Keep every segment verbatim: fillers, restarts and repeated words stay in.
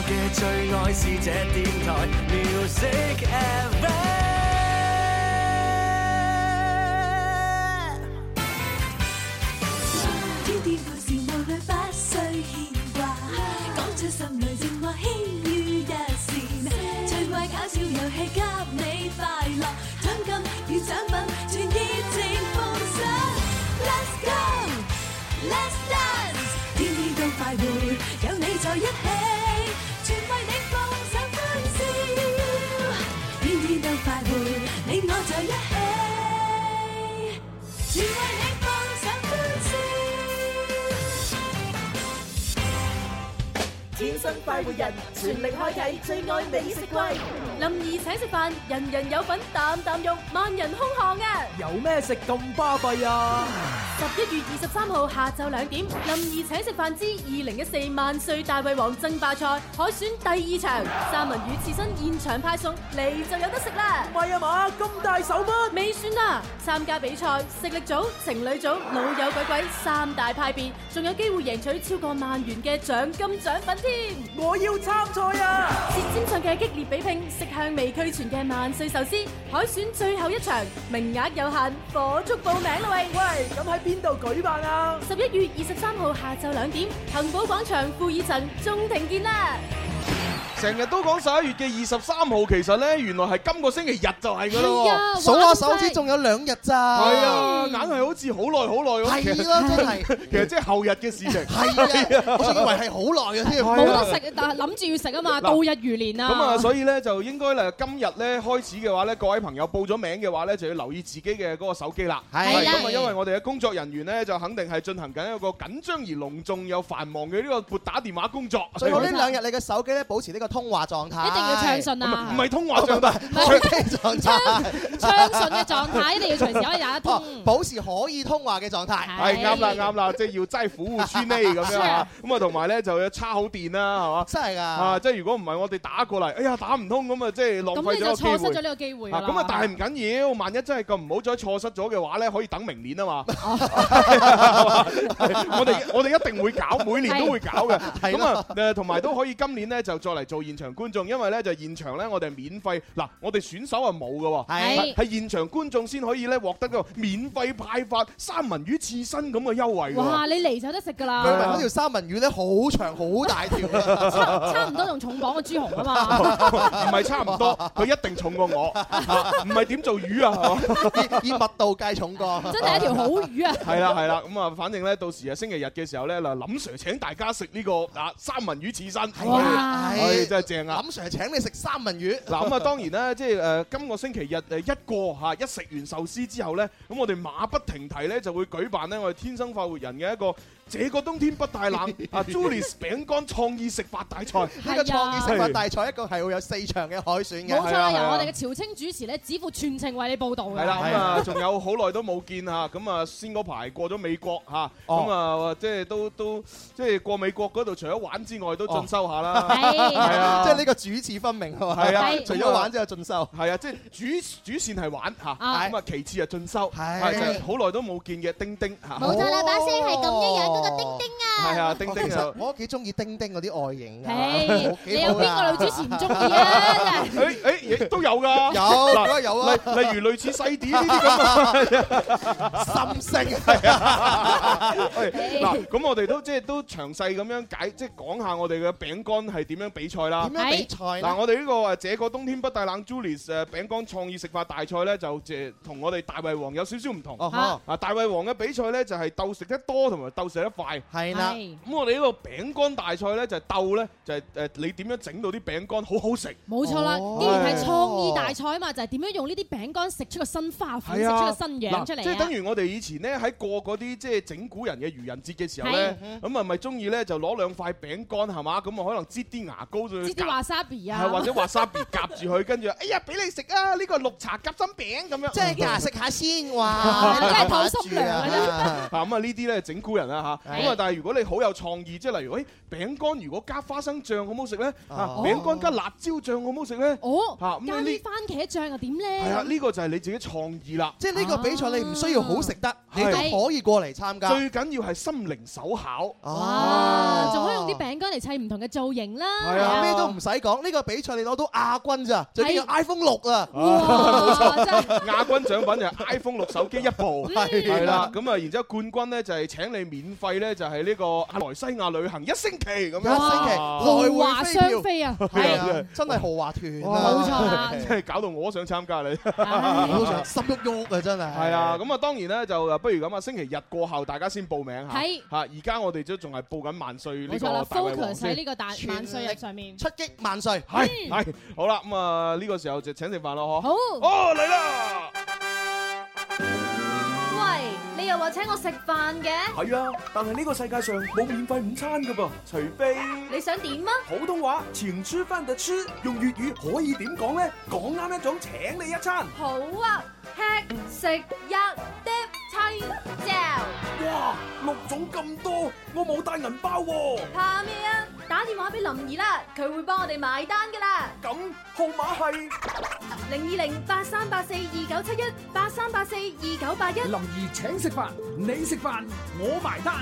嘅最愛是這電台 Music F M。 天天故事無慮不需牽掛，講出心裏情話輕於一線，趣味搞笑遊戲給你快樂，獎金與獎品全熱情奉上。Let's go，Let's dance，天天都快活，有你在一起，全為你放上歡笑，天天都快活，你我在一起，全為你放上歡笑。 天生快活人，全力開啟最愛美食季。 林兒請食飯，人人有份，啖啖肉，萬人空巷啊！ 有咩食咁巴閉啊？ 十一月二十三號下晝兩點，林兒請食飯之二零一四萬歲大胃王爭霸賽海選第二場，三文魚刺身現場派送，嚟就有得食啦！ 唔係啊嘛，咁大手筆？ 未算啊！參加比賽，食力組、情侶組、老友鬼鬼三大派別，仲有機會贏取超過萬元嘅獎金獎品添！ 我要參賽啊！ 舌尖上嘅激烈比拼，色香味俱全嘅萬歲壽司海選最後一場，名額有限，火速報名啦喂！ 喂，咁喺邊度舉辦啊？ 十一月二十三號下晝兩點，恒寶廣場富爾層中庭見啦！ 成日都講十一月嘅二十三號，其實咧原來係今個星期日就係㗎咯喎。 數下手指仲有兩日咋？ 係啊，硬係好似好耐好耐咁。 係咯，真係。 其實即係後日嘅事情。 係啊，我仲以為係好耐嘅添。 冇得食，但係諗住要食啊嘛，度日如年啊。 咁啊，所以咧就應該咧今日咧開始嘅話咧，各位朋友報咗名嘅話咧，就要留意自己嘅嗰個手機啦。 係咁啊，因為我哋嘅工作人員咧就肯定係進行緊一個緊張而隆重又繁忙嘅呢個撥打電話工作。 最好呢兩日你嘅手機咧保持呢個通話狀態。 一定要暢順啊！ 唔係通話狀態， 手機狀態， 暢順嘅狀態一定要隨時可以打得通， 保持可以通話嘅狀態。 係啱啦，啱啦，即係要齋苦護村呢咁樣啊！咁啊，同埋咧就要叉好電啦，係嘛？ 真係㗎！ 啊，即係如果唔係我哋打過嚟，哎呀打唔通咁啊，即係浪費咗個機會。 咁你就錯失咗呢個機會啦。 咁啊，但係唔緊要，萬一真係咁唔好再錯失咗嘅話咧，可以等明年啊嘛。我哋我哋一定會搞，每年都會搞嘅。咁啊誒，同埋都可以今年咧就再嚟做現場觀眾，因為咧就現場咧我哋係免費嗱，我哋選手係冇嘅喎，係係現場觀眾先可以咧獲得個免費派發三文魚刺身咁嘅優惠。 哇！你嚟就得食㗎啦。 據聞嗰條三文魚咧好長好大條啊， 差差唔多仲重磅過朱紅啊嘛。 唔係差唔多，佢一定重過我，唔係點做魚啊？ 以密度計重過。 真係一條好魚啊！ 係啦係啦，咁啊，反正咧到時啊星期日嘅時候咧，嗱林 Sir 請大家食呢個啊三文魚刺身， 哇！ 係真係正啊！ 林 Sir 請你食三文魚。 嗱咁啊，當然啦，即係誒今個星期日誒一過嚇一食完壽司之後咧，咁我哋馬不停蹄咧就會舉辦咧我哋天生快活人嘅一個這個冬天不太冷啊 Julius 餅乾創意食法大賽。 呢個創意食法大賽一共係會有四場嘅海選嘅。 冇錯啦，由我哋嘅朝清主持咧，指負全程為你報導嘅。 係啦，咁啊仲有好耐都冇見嚇，咁啊先嗰排過咗美國嚇，咁啊即係都都即係過美國嗰度，除咗玩之外都進修下啦。 係啊， 即係呢個主次分明係嘛？ 係啊， 除咗玩之後進修。 係啊，即係主主線係玩嚇，咁啊其次係進修，係就係好耐都冇見嘅丁丁嚇。 冇錯啦，把聲係咁一樣嗰個丁丁啊！ 係啊，丁丁啊！ 我幾中意丁丁嗰啲外形㗎。 你有邊個女主持唔中意啊？ 誒誒，亦都有㗎。 有，嗱有啊。 例例如類似細啲呢啲咁啊， 心聲係啊。嗱，咁我哋都即係都詳細咁樣解，即係講下我哋嘅餅乾係點樣比賽啦。 點樣比賽？ 嗱，我哋呢個誒這個冬天不太冷 Julius 誒餅乾創意食法大賽咧，就誒同我哋大胃王有少少唔同。啊，大胃王嘅比賽咧就係鬥食得多同埋鬥食得快。 係啦。 咁我哋呢個餅乾大賽咧就係鬥咧就係誒你點樣整到啲餅乾好好食。 冇錯啦，既然係創意大賽啊嘛，就係點樣用呢啲餅乾食出個新花款，食出個新樣出嚟啊！ 即係等於我哋以前咧喺過嗰啲即係整蠱人嘅愚人節嘅時候咧，咁啊咪中意咧就攞兩塊餅乾係嘛，咁啊可能擠啲牙膏就擠啲 wasabi 啊， 或者 wasabi 夾住佢，跟住哎呀俾你食啊！呢個綠茶夾心餅咁樣， 即係牙食下先哇！ 真係肚濕涼啊！ 咁啊呢啲咧整蠱人啊嚇，咁啊但係如果你好有創意，即係例如誒餅乾如果加花生醬好唔好食咧？啊餅乾加辣椒醬好唔好食咧？ 哦， 嚇咁加啲番茄醬又點咧？ 係啊，呢個就係你自己創意啦。 即係呢個比賽你唔需要好食得，你都可以過嚟參加。 最緊要係心靈手巧。 哇！仲可以用啲餅乾嚟砌唔同嘅造型啦。 係啊， 咩都唔使講，呢個比賽你攞到亞軍咋，就叫 iPhone 六啊！ 冇錯，亞軍獎品就係 iPhone 六手機一部，係啦。咁啊，然之後冠軍咧就係請你免費咧，就係呢個阿來西亞旅行一星期咁樣， 一星期豪華雙飛啊！ 係啊，真係豪華團啊！ 冇錯啦， 真係搞到我想參加你， 我都想心喐喐啊！真係。 係啊，咁啊當然咧就不如咁啊，星期日過後大家先報名嚇。 係嚇，而家我哋都仲係報緊萬歲呢個大胃王先。 冇錯啦 ，focus 喺呢個大萬歲日上面， 出擊萬歲。 係係，好啦，咁啊呢個時候就請食飯咯，嗬。 好。 哦，嚟啦！ 喂，你又話請我食飯嘅？ 係啊，但係呢個世界上冇免費午餐噶噃，除非你想點啊？ 普通話錢出翻就出，用粵語可以點講咧？講啱一種請你一餐。 好啊，吃食一碟青椒。 哇，六種咁多，我冇帶銀包喎。 怕咩啊？打電話俾林怡啦，佢會幫我哋埋單噶啦。 咁號碼係零二零八三八四二九七一八三八四二九八一。 林怡請食飯，你食飯，我埋單。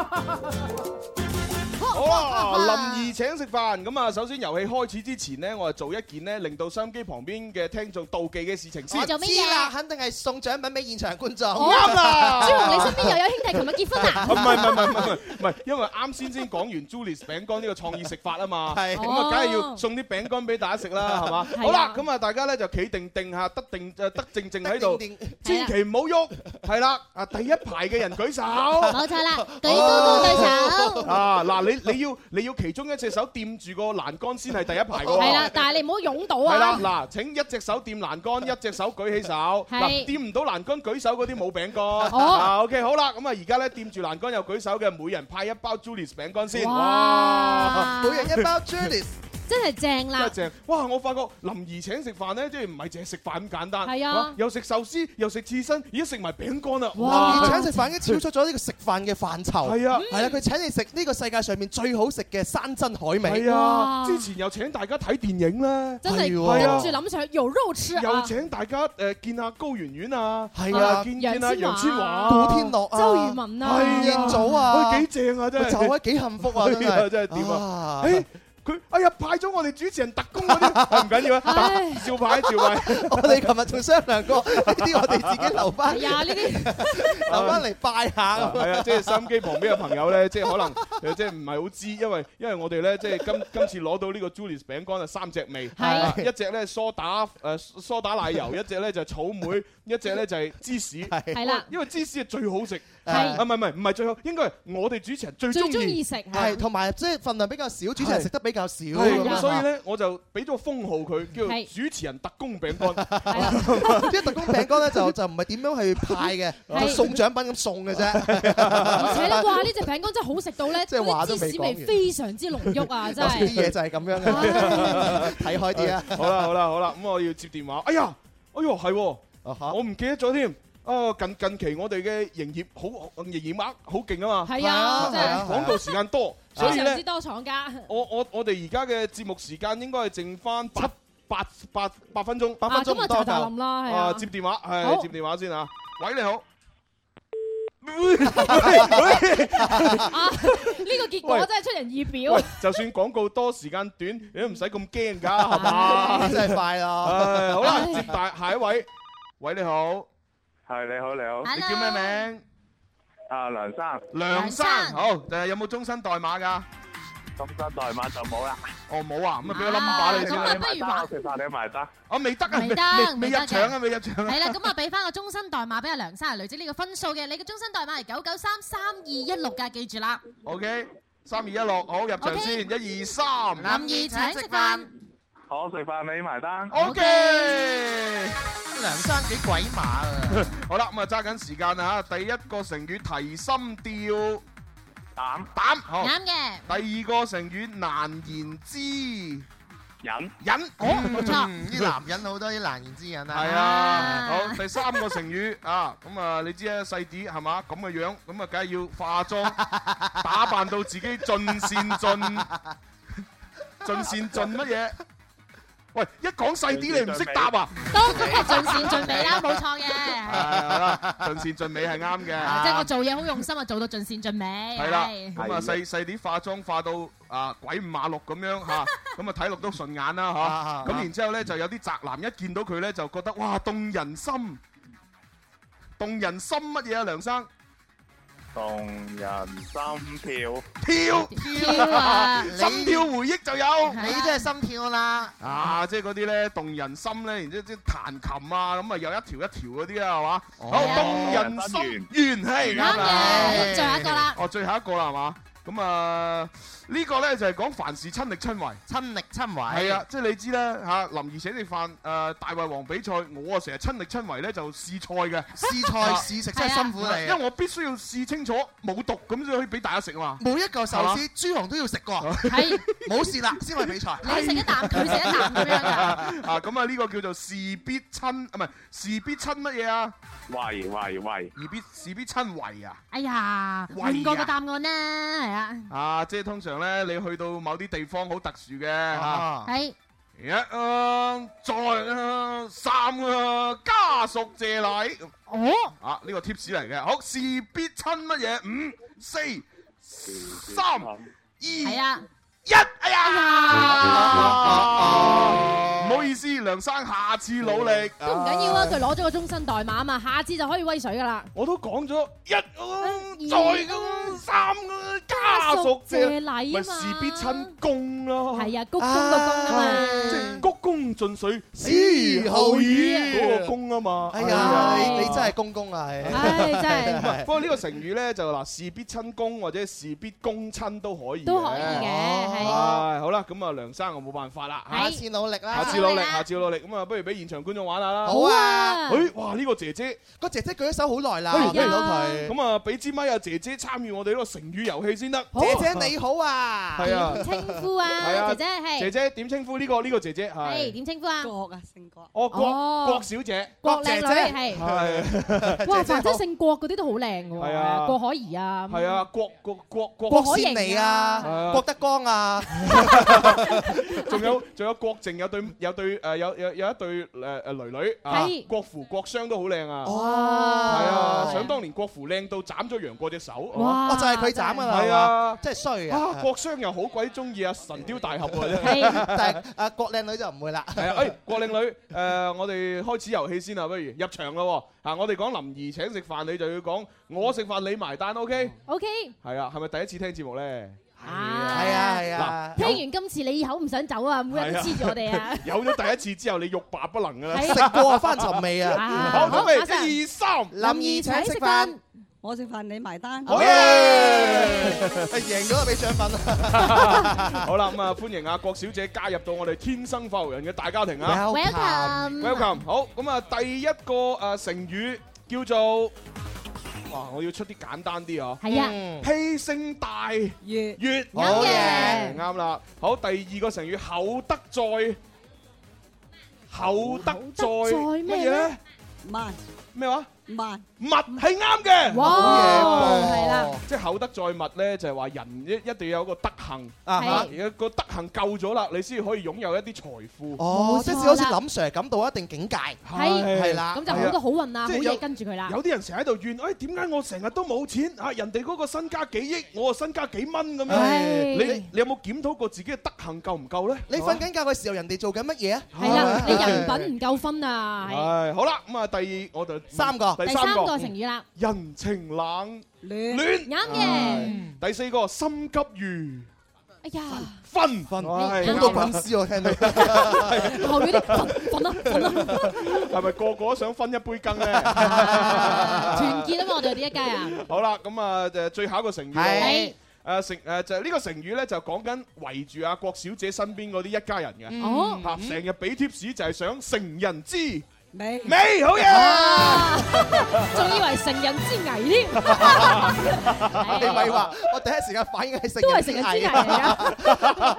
好啦，林怡請食飯。咁啊，首先遊戲開始之前呢，我係做一件呢令到收音機旁邊嘅聽眾妒忌嘅事情先。 我做乜嘢啦？肯定係送獎品俾現場觀眾。 啱啦！ 朱紅，你身邊又有兄弟琴日結婚啊？ 唔係唔係唔係唔係唔係，因為啱先先講完 Julius 餅乾呢個創意食法啊嘛。係。咁啊，梗係要送啲餅乾俾大家食啦，係嘛？好啦，咁啊，大家咧就企定定下，得定誒得正正喺度，千祈唔好喐。係啦，啊第一排嘅人舉手。 冇錯啦，舉高高對手。 啊嗱，你你要你要其中一隻手掂住個欄杆先係第一排嘅喎。 係啦，但係你唔好擁到啊。 係啦，嗱，請一隻手掂欄杆，一隻手舉起手。嗱，掂唔到欄杆舉手嗰啲冇餅乾。啊 OK， 好啦，咁啊而家咧掂住欄杆又舉手嘅，每人派一包 Julius 餅乾先。哇！ 每人一包 Julius。 真係正啦！ 真係正！哇！我發覺林怡請食飯咧，即係唔係淨係食飯咁簡單。 係啊， 又食壽司，又食刺身，而家食埋餅乾啦！ 哇！林怡請食飯已經超出咗呢個食飯嘅範疇。 係啊， 係啊，佢請你食呢個世界上面最好食嘅山珍海味。 係啊，之前又請大家睇電影啦， 真係跟住諗上有肉吃啊！ 又請大家誒見下高圓圓啊， 係啊， 見見下楊千嬅、 古天樂啊、 周渝民啊、 吳彥祖啊， 幾正啊！真係， 就係幾幸福啊！真係真係點啊？誒！佢哎呀派咗我哋主持人特工嗰啲，唔緊要啊，照派照派。 我哋琴日仲商量過，呢啲我哋自己留翻。 係啊，呢啲留翻嚟拜下。 係啊，即係收音機旁邊嘅朋友咧，即係可能即係唔係好知，因為因為我哋咧即係今今次攞到呢個 Julius 餅乾啊，三隻味，係一隻咧梳打誒梳打奶油，一隻咧就係草莓，一隻咧就係芝士。 係啦， 因為芝士係最好食。 係啊唔係唔係唔係最好，應該係我哋主持人最中意食。 係同埋即係份量比較少，主持人食得比較少。 咁所以咧，我就俾咗個封號佢，叫做主持人特工餅乾。 即係特工餅乾咧，就就唔係點樣去派嘅，送獎品咁送嘅啫。 而且咧，哇！呢隻餅乾真係好食到咧， 即係話都未講完， 芝士味非常之濃郁啊！真係啲嘢就係咁樣嘅，睇開啲啊！ 好啦好啦好啦，咁我要接電話。哎呀，哎呦係，我唔記得咗添。啊，近近期我哋嘅營業好營業額好勁啊嘛。 係啊，真係廣告時間多，所以咧， 之多廠家。 我我我哋而家嘅節目時間應該係剩翻八八八八分鐘， 八分鐘唔多就冧啦，係啊，接電話係接電話先啊。喂，你好。 啊！呢個結果真係出人意表。 喂，就算廣告多時間短，你都唔使咁驚㗎，係嘛？ 真係快咯。 好啦，接大下一位。喂，你好。 係你好，你好。 你叫咩名？ 啊，梁生。 梁生，好。誒，有冇終身代碼㗎？ 終身代碼就冇啦。 哦，冇啊，咁啊俾個 number 你先啦。 不如話食飯你埋單。 我未得啊， 未得， 未入場啊，未入場啊。 係啦，咁啊俾翻個終身代碼俾阿梁生嚟累積呢個分數嘅。你嘅終身代碼係九九三三二一六㗎，記住啦。 OK，三二一六，好，入場先，一二三。 林怡請食飯。 我食飯你埋單。 OK。 梁生幾鬼馬啊！ 好啦，咁啊揸緊時間啊嚇，第一個成語提心吊膽膽，好啱嘅。 第二個成語難言之隱隱， 哦，冇錯，啲男人好多啲難言之隱啊。 係啊，好，第三個成語啊，咁啊你知啊細啲係嘛咁嘅樣，咁啊梗係要化妝打扮到自己盡善盡盡善盡乜嘢？喂，一講細啲你唔識答啊？ 都梗係盡善盡美啦，冇錯嘅。 係啦，盡善盡美係啱嘅。 即係我做嘢好用心啊，做到盡善盡美。 係啦，咁啊細細啲化妝化到啊鬼五馬六咁樣嚇，咁啊睇落都順眼啦嚇。咁然之後咧就有啲宅男一見到佢咧就覺得哇動人心，動人心乜嘢啊梁生？ 動人心跳， 跳跳啊！ 心跳回憶就有， 你真係心跳啦！ 啊，即係嗰啲咧動人心咧，然之後即係彈琴啊，咁啊有一條一條嗰啲啊，係嘛？好動人心圓係啱嘅，最後一個啦。 哦，最後一個啦，係嘛？咁啊呢個咧就係講凡事親力親為， 親力親為係啊，即係你知啦嚇，林兒請食飯誒大胃王比賽，我啊成日親力親為咧就試菜嘅， 試菜試食真係辛苦你， 因為我必須要試清楚冇毒咁先可以俾大家食啊嘛。 每一嚿壽司朱紅都要食過，係冇事啦先去比賽。 你食一啖，佢食一啖咁樣㗎。 啊咁啊呢個叫做事必親，啊唔係事必親乜嘢啊？ 喂喂喂！ 事必事必親為啊！ 哎呀，換過個答案啦，係啊。 啊，即係通常咧，你去到某啲地方好特殊嘅嚇， 係一啊，再啊，三啊，家屬謝禮。 哦， 啊呢個 tips 嚟嘅，好事必親乜嘢？五、四、三、二、 係啊。 一，哎呀，唔好意思，梁生，下次努力。 都唔緊要啊，佢攞咗個終身代碼啊嘛，下次就可以威水噶啦。 我都講咗一，再咁三個家屬謝禮啊嘛，咪事必親公咯。 係啊，鞠躬個躬啊嘛， 即係鞠躬盡瘁， 司後語嗰個公啊嘛。 哎呀，你你真係公公啊，係。 唉，真係。 不過呢個成語咧就嗱，事必親公或者事必公親都可以。 都可以嘅。 係好啦，咁啊梁生我冇辦法啦， 下次努力啦， 下次努力，下次努力，咁啊不如俾現場觀眾玩下啦。 好啊！ 誒，哇呢個姐姐， 個姐姐舉咗手好耐啦，見到佢。 咁啊俾支咪啊姐姐參與我哋呢個成語遊戲先得。 姐姐你好啊， 係啊， 點稱呼啊？姐姐係。 姐姐點稱呼呢個呢個姐姐係？ 係點稱呼啊？ 郭啊，姓郭。 哦，郭郭小姐。 郭靚女係。 係。 哇，凡真姓郭嗰啲都好靚㗎喎。 係啊。 郭可怡啊。 係啊，郭郭郭郭。 郭羨妮啊，郭德綱啊。 仲有仲有郭靖有對有對誒有有有一對誒誒女女啊，郭芙郭襄都好靚啊！係啊，想當年郭芙靚到斬咗楊過隻手， 哇！就係佢斬㗎啦， 係啊， 真係衰啊！ 郭襄又好鬼中意啊神雕大俠喎， 但係啊郭靚女就唔會啦。 係啊，誒郭靚女誒，我哋開始遊戲先啊，不如入場啦喎！啊，我哋講林兒請食飯，你就要講我食飯你埋單 ，OK？OK。係啊，係咪第一次聽節目咧？ 係啊係啊！ 聽完今次你以後唔想走啊，每日都黐住我哋啊！ 有咗第一次之後，你欲罷不能噶啦！ 食過啊，翻尋味啊！ 好，準備一二三， 林兒請食飯， 我食飯你埋單。 好嘢！ 贏咗就俾獎品啦！ 好啦，咁啊歡迎阿郭小姐加入到我哋天生快活人嘅大家庭啊 ！Welcome，Welcome。 好，咁啊第一個誒成語叫做。哇！我要出啲簡單啲啊！ 係啊， 披星戴月月， 啱嘅， 啱啦。好，第二個成語厚德載，厚德載乜嘢咧？ 慢咩話？ 慢物係啱嘅， 哇！係啦， 即係厚德載物咧，就係話人一一定要有個德行啊！而家個德行夠咗啦，你先可以擁有一啲財富。 哦，即係好似林 Sir 咁到一定境界， 係係啦， 咁就好多好運啊，好嘢跟住佢啦。 有啲人成日喺度怨，誒點解我成日都冇錢啊？人哋嗰個身家幾億，我啊身家幾蚊咁樣。你你有冇檢討過自己嘅德行夠唔夠咧？ 你瞓緊覺嘅時候，人哋做緊乜嘢啊？ 係啦，你人品唔夠分啊！ 係好啦，咁啊第二我就三個。 第三個成語啦， 人情冷暖暖啱嘅。 第四個心急如， 哎呀， 分分， 好多滾絲我聽到， 後面啲分分啦分啦， 係咪個個都想分一杯羹咧？ 團結啊嘛，我哋呢一家人。 好啦，咁啊誒最後一個成語係誒成誒就係呢個成語咧，就講緊圍住阿郭小姐身邊嗰啲一家人嘅， 哦， 嚇成日俾貼士就係想成人之美美好嘢， 仲以為成人之危添。 你咪話，我第一時間反應係成都係成人之危嚟㗎。 原來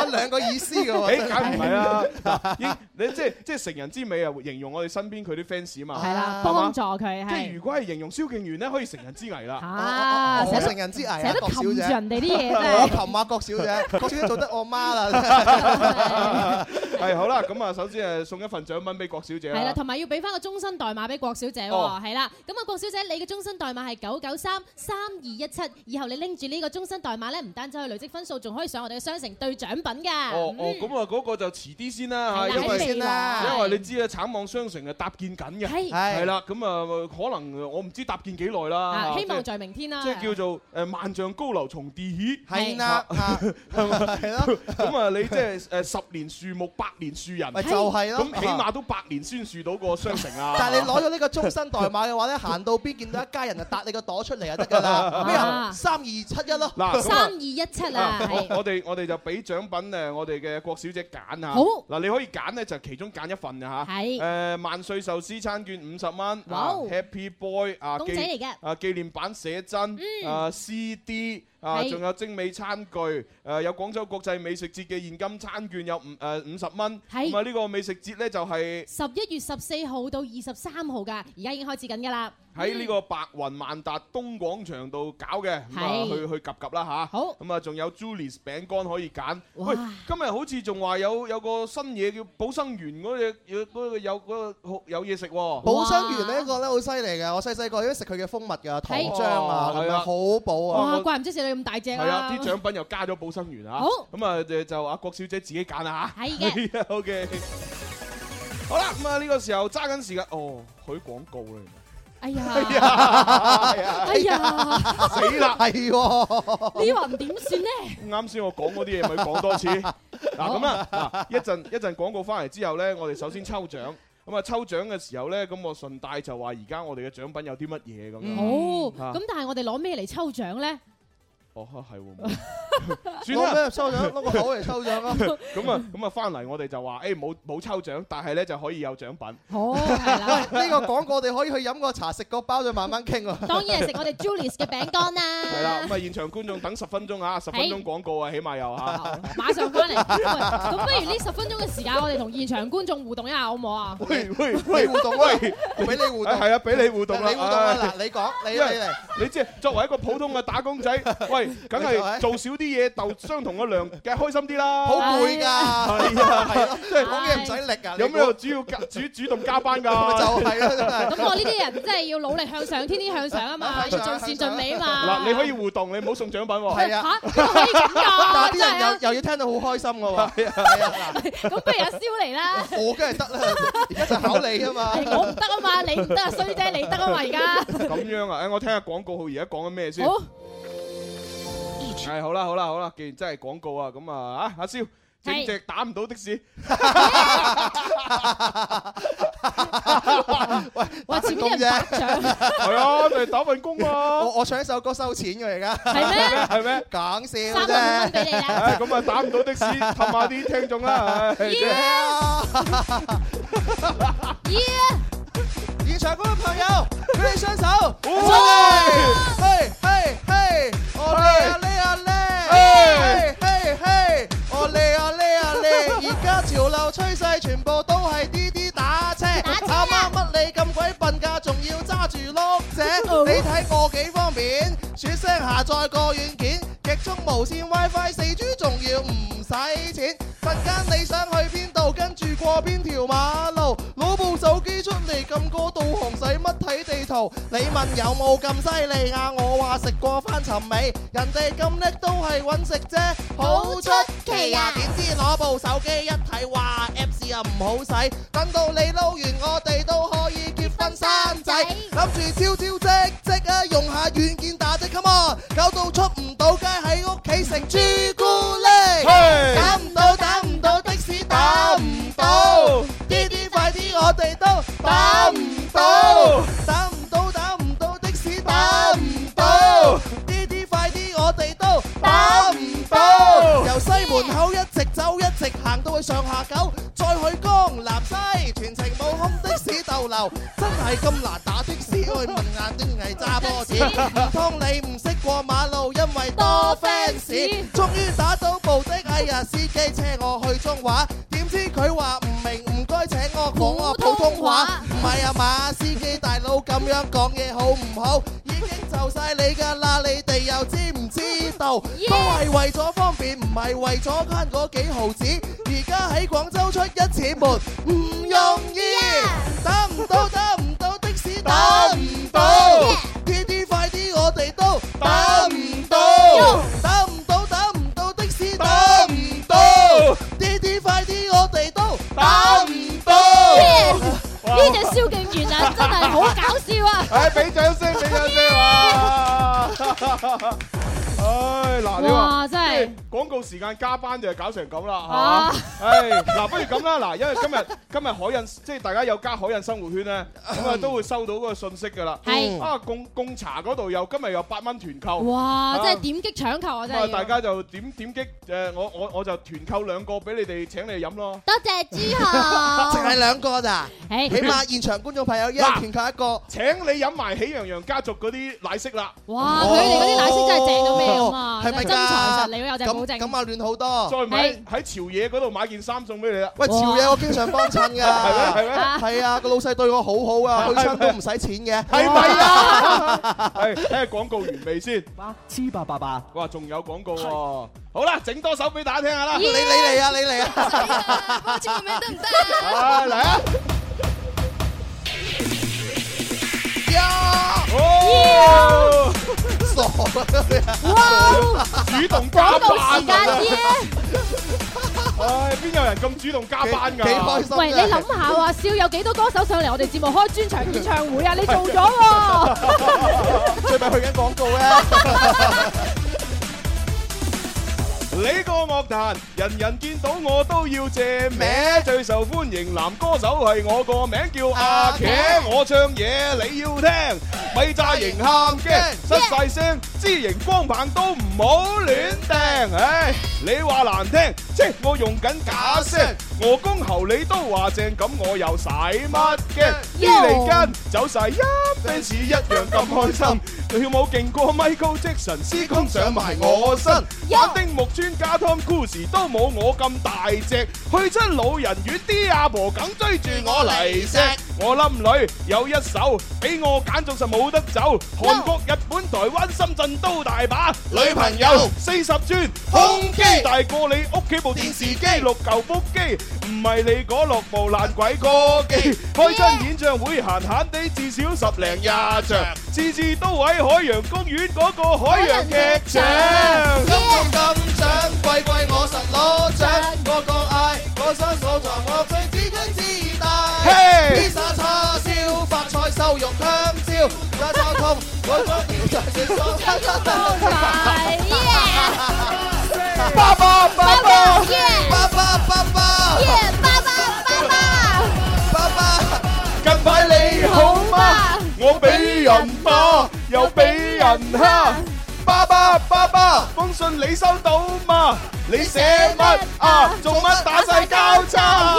有兩個意思嘅喎。 誒，梗唔係啦，應你即係即係成人之美啊，形容我哋身邊佢啲 fans 嘛。 係啦，幫助佢。 即係如果係形容蕭敬元咧，可以成人之危啦。 啊， 我成人之危啊， 成日都擒住人哋啲嘢真我係。 擒下郭小姐，郭小姐做得我媽啦。 係好啦，咁啊，首先誒送一份獎品俾郭小姐啦。 係啦，同埋要俾翻個終身代碼俾郭小姐喎。係啦，咁啊，郭小姐，你嘅終身代碼係九九三三二一七。以後你拎住呢個終身代碼咧，唔單止可以累積分數，仲可以上我哋嘅商城兌獎品㗎。 哦哦，咁啊嗰個就遲啲先啦嚇，因為因為你知啊，橙網商城啊搭建緊嘅，係係啦，咁啊可能我唔知搭建幾耐啦。 希望在明天啦。 即係叫做誒萬丈高樓從地起， 係啦， 係咪？ 係咯。 咁啊，你即係誒十年樹木，百年樹人， 咪就係咯。 咁起碼都百年先樹到個商城啊！ 但係你攞咗呢個終身代碼嘅話咧，行到邊見到一家人就搭你個朵出嚟就得㗎啦。咩啊？三二七一咯。 嗱， 三二一七啊！ 我哋我哋就俾獎品誒，我哋嘅郭小姐揀嚇。 好。 嗱，你可以揀咧，就其中揀一份啊嚇。係。誒萬歲壽司餐券五十蚊。 哇 ！Happy Boy 啊， 公仔嚟嘅。 啊紀念版寫真。嗯。啊 C D。啊，仲有精美餐具，誒有廣州國際美食節嘅現金餐券有五誒五十蚊。係。咁啊呢個美食節咧就係十一月十四號到二十三號㗎，而家已經開始緊㗎啦。 喺呢個白雲萬達東廣場度搞嘅，咁啊去去及及啦嚇。好。咁啊仲有 Julius 餅乾可以揀。喂，今日好似仲話有有個新嘢叫寶生園嗰隻，嗰個有嗰個有嘢食喎。 寶生園呢一個咧好犀利嘅，我細細個已經食佢嘅蜂蜜㗎，糖漿啊，咁樣好補啊。 哇，怪唔知食到咁大隻啊！ 係啊，啲獎品又加咗寶生園啊。好。咁啊就就阿郭小姐自己揀啦嚇。係嘅。OK。好啦，咁啊呢個時候揸緊時間，哦，許廣告啦。 哎呀！ 哎呀！死啦！ 係喎， 呢話點算呢？ 啱先我講嗰啲嘢咪講多次。嗱咁啦，嗱一陣一陣廣告翻嚟之後咧，我哋首先抽獎。咁啊抽獎嘅時候咧，咁我順帶就話而家我哋嘅獎品有啲乜嘢咁樣。 好，咁但係我哋攞咩嚟抽獎咧？ 哦，係喎，算啦， 攞咩抽獎？攞個口嚟抽獎咯。 咁啊，咁啊，翻嚟我哋就話，誒冇冇抽獎，但係咧就可以有獎品。 好，係啦。 呢個廣告我哋可以去飲個茶、食個包，再慢慢傾喎。 當然係食我哋 Julius 嘅餅乾啦。 係啦，咁啊現場觀眾等十分鐘啊，十分鐘廣告啊，起碼有嚇。 馬上翻嚟。咁不如呢十分鐘嘅時間，我哋同現場觀眾互動一下，好唔好啊？ 喂喂喂，互動喂， 俾你互動。 係啊，俾你互動啦。 你互動啊！嗱，你講，你嚟嚟。 你即係作為一個普通嘅打工仔，喂，梗係做少啲嘢，鬥相同嘅量，梗係開心啲啦。 好攰㗎，係啊，係啊，即係講嘢唔使力啊。 有咩主要主主動加班㗎？ 就係啦， 咁我呢啲人真係要努力向上，天天向上啊嘛，要盡善盡美啊嘛。 嗱，你可以互動，你唔好送獎品喎。 係啊， 嚇，可以咁㗎？ 但係啲人又又要聽到好開心㗎喎。係啊，係啊。 咁不如阿蕭嚟啦。 我梗係得啦，而家就考你啊嘛。 我唔得啊嘛，你唔得啊，衰姐你得啊嘛，而家。 咁樣啊？誒，我聽下廣告號而家講緊咩先？好。係好啦，好啦，好啦！既然真係廣告啊，咁啊啊阿蕭，正直打唔到的士。 喂， 哇！前面啲人打獎。 係啊，就係打份工啊！ 我我唱一首歌收錢嘅而家。 係咩？ 係咩？ 講笑啫。 三萬蚊俾你啦。 咁啊打唔到的士，氹下啲聽眾啦。 現場嗰個朋友，舉起雙手，出嚟！嘿，嘿，嘿，我嚟啊，嚟啊，嚟！嘿，嘿，嘿，我嚟啊，嚟啊，嚟！而家潮流趨勢全部都係滴滴打車，阿媽乜你咁鬼笨㗎，仲要揸住碌蔗？你睇我幾方便，説聲下載個軟件，極速無線 WiFi 四 G， 仲要唔使錢。陣間你想去邊度，跟住過邊條馬路，攞部手機出嚟撳個導航，使乜睇地圖？你問有冇咁犀利啊？我話食過翻尋味，人哋咁叻都係揾食啫，好出奇啊！點知攞部手機一睇，哇 Apps 又唔好使，等到你撈完，我哋都可以結婚生仔，諗住超超積積啊，用下軟件打的 come on，搞到出唔到街，喺屋企食朱古力，打唔到打唔到的士打唔到，啲啲快啲我哋都打唔到，打唔到打唔到的士打唔到，啲啲快啲我哋都打唔到，由西門口一直走一直行到去上下九，再去江南西，全程冇空的士逗留，真係咁難打的士。 只會問眼睛係揸波子，唔通你唔識過馬路，因為多 fans。終於打到目的，哎呀，司機車我去中華，點知佢話唔明，唔該請我講我普通話。唔係啊嘛，司機大佬咁樣講嘢好唔好？已經就晒你㗎啦，你哋又知唔知道？都係為咗方便，唔係為咗慳嗰幾毫子。而家喺廣州出一次門唔容易，打唔到打唔到的士打唔到，滴滴快啲我哋都打唔到，打唔到打唔到的士打唔到，滴滴快啲我哋都打唔到。 呢隻蕭敬元啊，真係好搞笑啊！ 誒，俾掌聲，俾掌聲啊！唉，嗱，你話真係廣告時間加班就係搞成咁啦，係嘛？唉，嗱，不如咁啦，嗱，因為今日今日海印即係大家有加海印生活圈咧，咁啊都會收到嗰個信息㗎啦。係啊，貢貢茶嗰度又今日有八蚊團購。 哇！真係點擊搶購啊！真係。 大家就點點擊誒，我我我就團購兩個俾你哋請你哋飲咯。 多謝朱豪。 淨係兩個咋？起碼現場觀眾朋友一人團購一個。 請你飲埋喜羊羊家族嗰啲奶昔啦。 哇！佢哋嗰啲奶昔真係正到咩咁啊！ 係咪真材實料有隻保證。 咁啊亂好多。 再買喺潮野嗰度買件衫送俾你啦。 喂，潮野我經常幫襯㗎。係咩？係咩？ 係啊，個老細對我好好啊，去親都唔使錢嘅。 係咪啊？係睇下廣告完未先？ 黐八八八。 哇，仲有廣告喎！好啦，整多首俾大家聽下啦。 你你嚟啊！你嚟啊！ 開始個名得唔得啊？ 啊，嚟啊！ 哦！傻啊！ 哇！ 主動加班時間啫！ 唉，邊有人咁主動加班㗎？ 幾開心！ 喂，你諗下話笑有幾多歌手上嚟我哋節目開專場演唱會啊？你做咗喎！ 最咪去緊廣告咧！ 呢個樂壇人人見到我都要借名，最受歡迎男歌手係我個名叫阿茄，我唱嘢你要聽，咪炸型喊驚，失晒聲，支型光棒都唔好亂掟，唉，你話難聽，即係我用緊假聲，我公喉你都話正，咁我又使乜驚？啲嚟跟走晒一 fans 一樣咁開心，跳舞勁過 Michael Jackson，司空上埋我身，玩丁木村加 Tom Cruise 都冇我咁大隻，去親老人院啲阿婆梗追住我嚟錫，我冧女有一手，俾我揀仲實冇得走，韓國、日本、台灣、深圳都大把女朋友，四十寸胸肌大過你屋企部電視機，六嚿腹肌唔係你嗰六部爛鬼歌機，開親演唱會閒閒地至少十零廿場，次次都喺海洋公園嗰個海洋劇場。 金金金獎，貴貴我實攞獎，個個嗌我身所在，我最自強自大。披薩叉燒，發菜瘦肉香蕉，炸炒通，我中意就係所餐餐都買。爸爸爸爸，爸爸爸爸， 爸爸爸爸， 爸爸， 近排你好嗎？我俾人罵，又俾人蝦。爸爸爸爸，封信你收到嗎？你寫乜啊？做乜打晒交叉？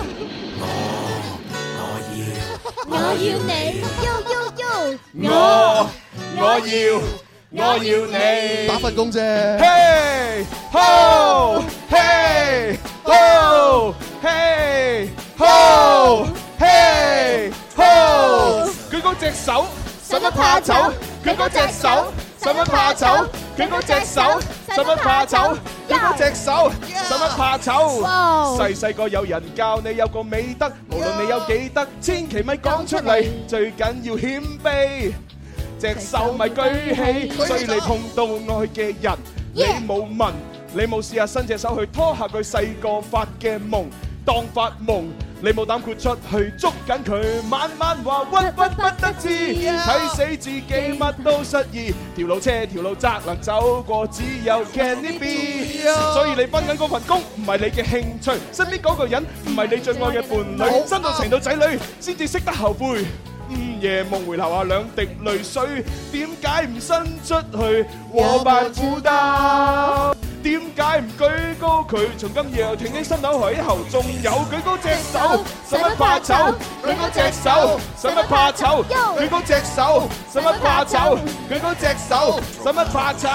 我要你，呦呦呦！ 我我要我要你， 打份工啫。 嘿吼嘿吼嘿吼嘿吼，佢嗰隻手使乜怕醜？佢嗰隻手使乜怕醜？佢嗰隻手使乜怕醜？佢嗰隻手使乜怕醜？細細個有人教你有個美德，無論你有幾得，千祈咪講出嚟，最緊要謙卑。隻手咪舉起，所以你碰到愛嘅人，你冇問，你冇試下伸隻手去拖下佢細個發嘅夢，當發夢。你冇膽豁出去捉緊佢，晚晚話屈屈不得志，睇死自己乜都失意，條路車條路窄能走過，只有 Can it be？ 所以你分緊嗰份工唔係你嘅興趣，身邊嗰個人唔係你最愛嘅伴侶，生到成到仔女先至識得後悔。午夜夢回流下兩滴淚水，點解唔伸出去和伴負擔？ 點解唔舉高佢？從今以後挺起心口喺後，仲有舉高隻手，使乜怕醜？舉高隻手，使乜怕醜？舉高隻手，使乜怕醜？舉高隻手，使乜怕醜？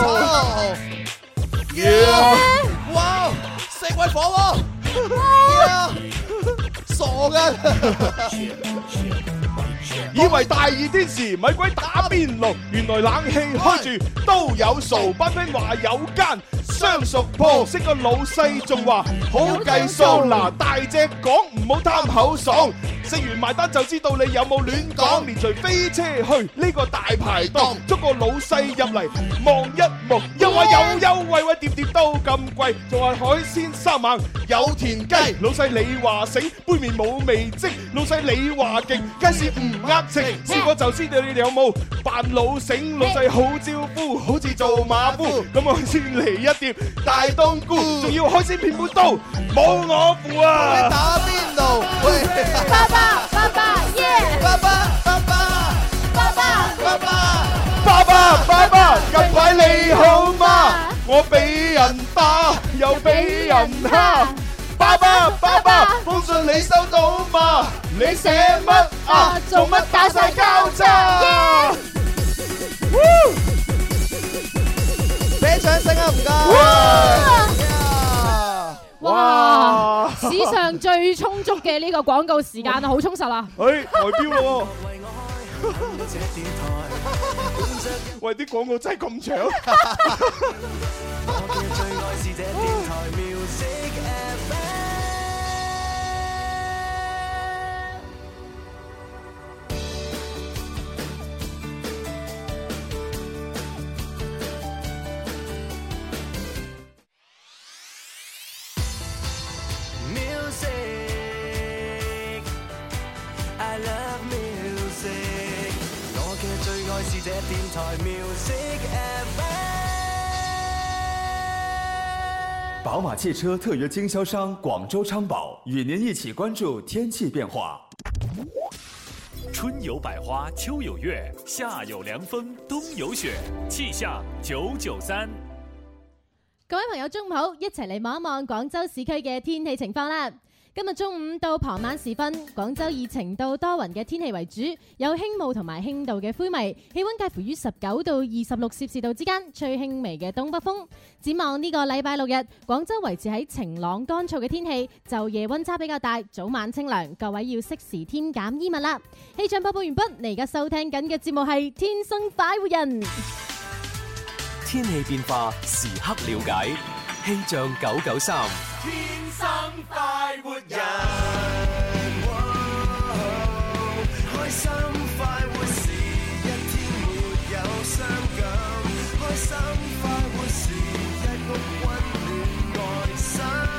哇！四位火喎！傻㗎！ 以為大熱天時咪鬼打邊爐，原來冷氣開住都有數。班 friend 話有間相熟鋪，識個老細仲話好計數。嗱，大隻講唔好貪口爽，食完埋單就知道你有冇亂講。連隨飛車去呢個大排檔，捉個老細入嚟望一望，又話有優惠，喂碟碟都咁貴，仲話海鮮三猛有田雞。老細你話醒，杯麵冇味精。老細你話勁，街市唔呃情。試過就知道你哋有冇扮老醒。老細好招呼，好似做馬夫。咁我先嚟一碟大冬菇，仲要海鮮片半刀，冇我符啊！ 打邊爐，喂！ 爸爸，爸爸，耶！ 爸爸，爸爸， 爸爸， 爸爸， 爸爸，爸爸，近排你好嗎？我俾人打，又俾人蝦。爸爸，爸爸，封信你收到嗎？你寫乜啊？做乜打晒交叉？ 俾掌聲啊！唔該。 哇！史上最充足嘅呢個廣告時間啊，好充實啊！ 誒，代表咯喎！喂，啲廣告真係咁長。 I love music， 我嘅最愛是這電台 Music F M。 寶馬汽車特約經銷商廣州昌寶與您一起關注天氣變化。 春有百花，秋有月，夏有涼風，冬有雪，氣象九九三。 各位朋友中午好，一齊嚟望一望廣州市區嘅天氣情況啦。今日中午到傍晚時分，廣州以晴到多雲嘅天氣為主，有輕霧同埋輕度嘅灰霾，氣溫介乎於十九到二十六攝氏度之間，吹輕微嘅東北風。展望呢個禮拜六日，廣州維持喺晴朗乾燥嘅天氣，晝夜溫差比較大，早晚清涼，各位要適時添減衣物啦。氣象播報完畢，你而家收聽緊嘅節目係《天生快活人》， 天氣變化時刻了解，氣象九九三。 天生快活人，開心快活是一天沒有傷感，開心快活是一屋溫暖愛心，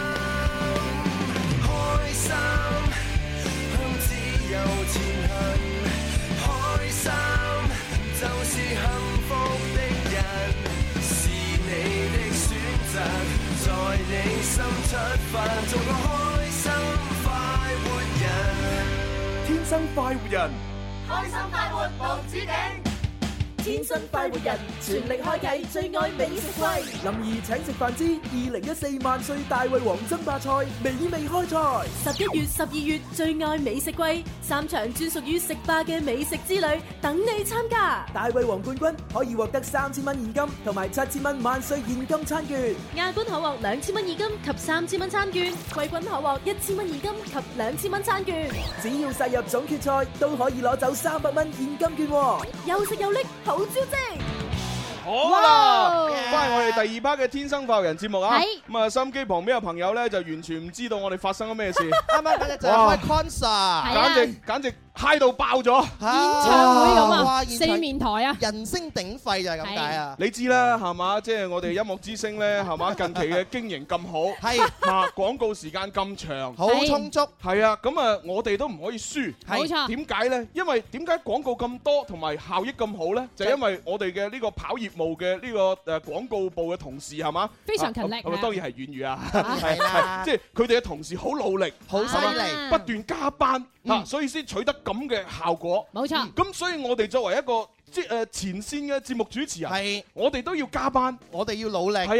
開心向自由前行，開心就是幸福的人，是你的選擇。在你心出發，做個開心快活人， 天生快活人， 開心快活無止境。天生快活人，全力開啟最愛美食季。 林兒請食飯之二零一四萬歲大胃王爭霸賽美味開賽。 十一月、十二月最愛美食季，三場專屬於食霸嘅美食之旅等你參加。 大胃王冠軍可以獲得三千蚊現金同埋七千蚊萬歲現金餐券， 亞軍可獲兩千蚊現金及三千蚊餐券，季軍可獲一千蚊現金及兩千蚊餐券。 只要殺入總決賽，都可以攞走三百蚊現金券喎。 又食又拎，好招積！ 好啦，翻嚟我哋第二 part 嘅天生快活人節目啊！咁啊，收音機旁邊嘅朋友咧就完全唔知道我哋發生咗咩事。 啱啱嗰隻就係開 concert， 簡直簡直嗨到爆咗， 演唱會咁啊，四面台啊， 人聲鼎沸就係咁解啊！ 你知啦，係嘛？即係我哋音樂之聲咧，係嘛？近期嘅經營咁好， 係啊，廣告時間咁長， 好充足， 係啊，咁啊，我哋都唔可以輸， 冇錯。 點解咧？因為點解廣告咁多同埋效益咁好咧？就因為我哋嘅呢個跑業務嘅呢個誒廣告部嘅同事係嘛？ 非常勤力， 咁啊當然係粵語啊，係啦，即係佢哋嘅同事好努力， 好犀利， 不斷加班嚇，所以先取得咁嘅效果。 冇錯， 咁所以我哋作為一個即誒前線嘅節目主持人， 係我哋都要加班， 我哋要努力。 係啊，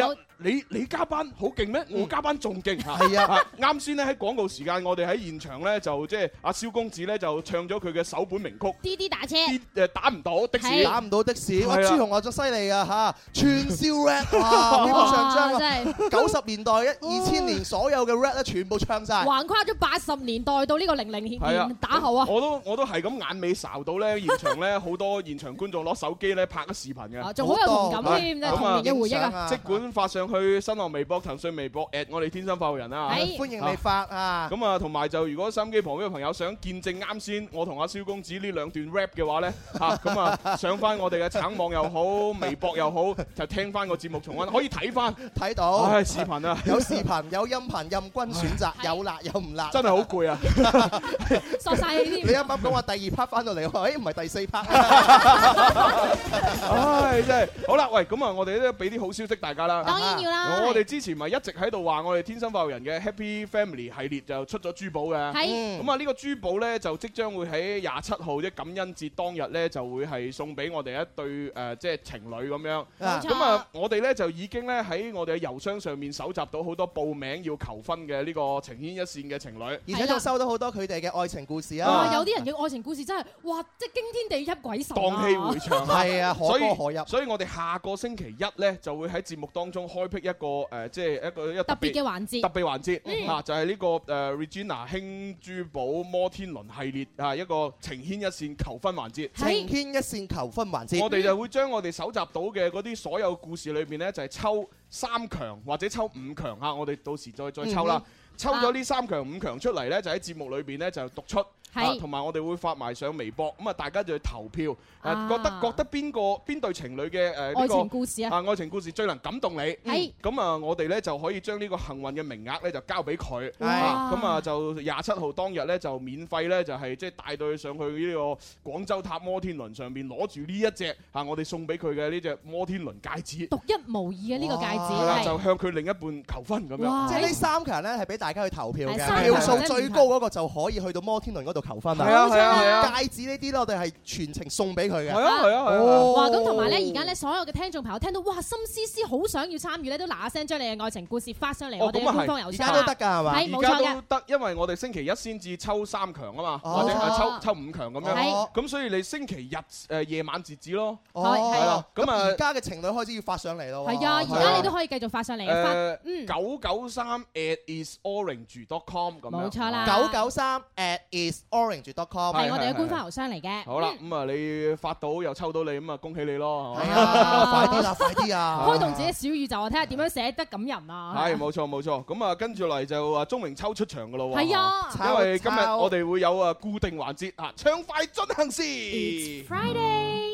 你你加班好勁咩？我加班仲勁嚇。 係啊， 啱先咧喺廣告時間，我哋喺現場咧就即係阿蕭公子咧就唱咗佢嘅首本名曲。 滴滴打車。 誒打唔到的士， 打唔到的士。哇！朱紅我仲犀利啊嚇，串燒 rap 哇！基本上將啊九十年代一二千年所有嘅 rap 咧全部唱晒， 橫跨咗八十年代到呢個零零年打後啊！ 我都我都係咁眼尾睄到咧，現場咧好多現場觀眾攞手機咧拍咗視頻嘅， 仲好有同感添，真係童年嘅回憶啊！ 即管發上去新浪微博、騰訊微博 at 我哋天生快活人啊！ 歡迎你發啊！ 咁啊，同埋就如果收音機旁邊嘅朋友想見證啱先我同阿蕭公子呢兩段 rap 嘅話咧，嚇咁啊上翻我哋嘅橙網又好，微博又好，就聽翻個節目重溫，可以睇翻睇到。 唉，視頻啊， 有視頻有音頻任君選擇，有辣有唔辣， 真係好攰啊！ 索晒氣添。 你啱啱講話第二 part 翻到嚟，誒唔係第四 part。 唉，真係好啦，喂，咁啊，我哋都俾啲好消息大家啦。 當然要啦。 我哋之前咪一直喺度話，我哋天生快活人嘅 Happy Family 系列就出咗珠寶嘅。 係。 咁啊，呢個珠寶咧就即將會喺廿七號即感恩節當日咧就會係送俾我哋一對誒即係情侶咁樣。 冇錯。 咁啊，我哋咧就已經咧喺我哋嘅郵箱上面搜集到好多報名要求婚嘅呢個情牽一線嘅情侶， 而且仲收到好多佢哋嘅愛情故事啊！ 有啲人嘅愛情故事真係哇，即係驚天地泣鬼神啊！ 蕩氣迴腸啊！ 係啊，可歌可泣。 所以我哋下個星期一咧就會喺節目當中開闢一個誒，即係一個一特別嘅環節。 特別環節嚇就係呢個誒 Regina 輕珠寶摩天輪系列啊，一個情牽一線求婚環節。 情牽一線求婚環節。 我哋就會將我哋搜集到嘅嗰啲所有故事裏邊咧，就係抽三強或者抽五強嚇，我哋到時再再抽啦。抽咗呢三強五強出嚟咧，就喺節目裏邊咧就讀出。係，同埋我哋會發埋上微博，咁啊大家就去投票，誒覺得覺得邊個邊對情侶嘅誒呢個愛情故事啊， 啊愛情故事最能感動你， 係， 咁啊我哋咧就可以將呢個幸運嘅名額咧就交俾佢， 係， 咁啊就廿七號當日咧就免費咧就係即係帶到佢上去呢個廣州塔摩天輪上邊攞住呢一隻嚇我哋送俾佢嘅呢隻摩天輪戒指， 獨一無二嘅呢個戒指， 係啦，就向佢另一半求婚咁樣， 即係呢三強咧係俾大家去投票嘅，票數最高嗰個就可以去到摩天輪嗰度求婚啦。 係啊係啊係啊！ 戒指呢啲咧，我哋係全程送俾佢嘅。 係啊係啊係啊！ 哇！咁同埋咧，而家咧所有嘅聽眾朋友聽到哇，心思思好想要參與咧，都嗱嗱聲將你嘅愛情故事發上嚟我哋嘅官方郵箱。 而家都得㗎係嘛？ 係冇錯嘅。 而家都得，因為我哋星期一先至抽三強啊嘛，或者係抽抽五強咁樣。咁所以你星期日誒夜晚截止咯。 係啦。咁啊， 而家嘅情侶開始要發上嚟咯。 係啊，而家你都可以繼續發上嚟啊。 誒，九九三 at isorange dot com 咁樣。 冇錯啦。 九九三 at isorange dot com 係我哋嘅官方郵箱嚟嘅。 好啦，咁啊你發到又抽到你，咁啊恭喜你咯。 係啊，快啲啦，快啲啊！ 開動自己小宇宙啊，睇下點樣寫得感人啊。 係冇錯冇錯，咁啊跟住嚟就啊鐘明秋出場噶咯喎。 係啊， 因為今日我哋會有啊固定環節啊，暢快進行時。 It's Friday。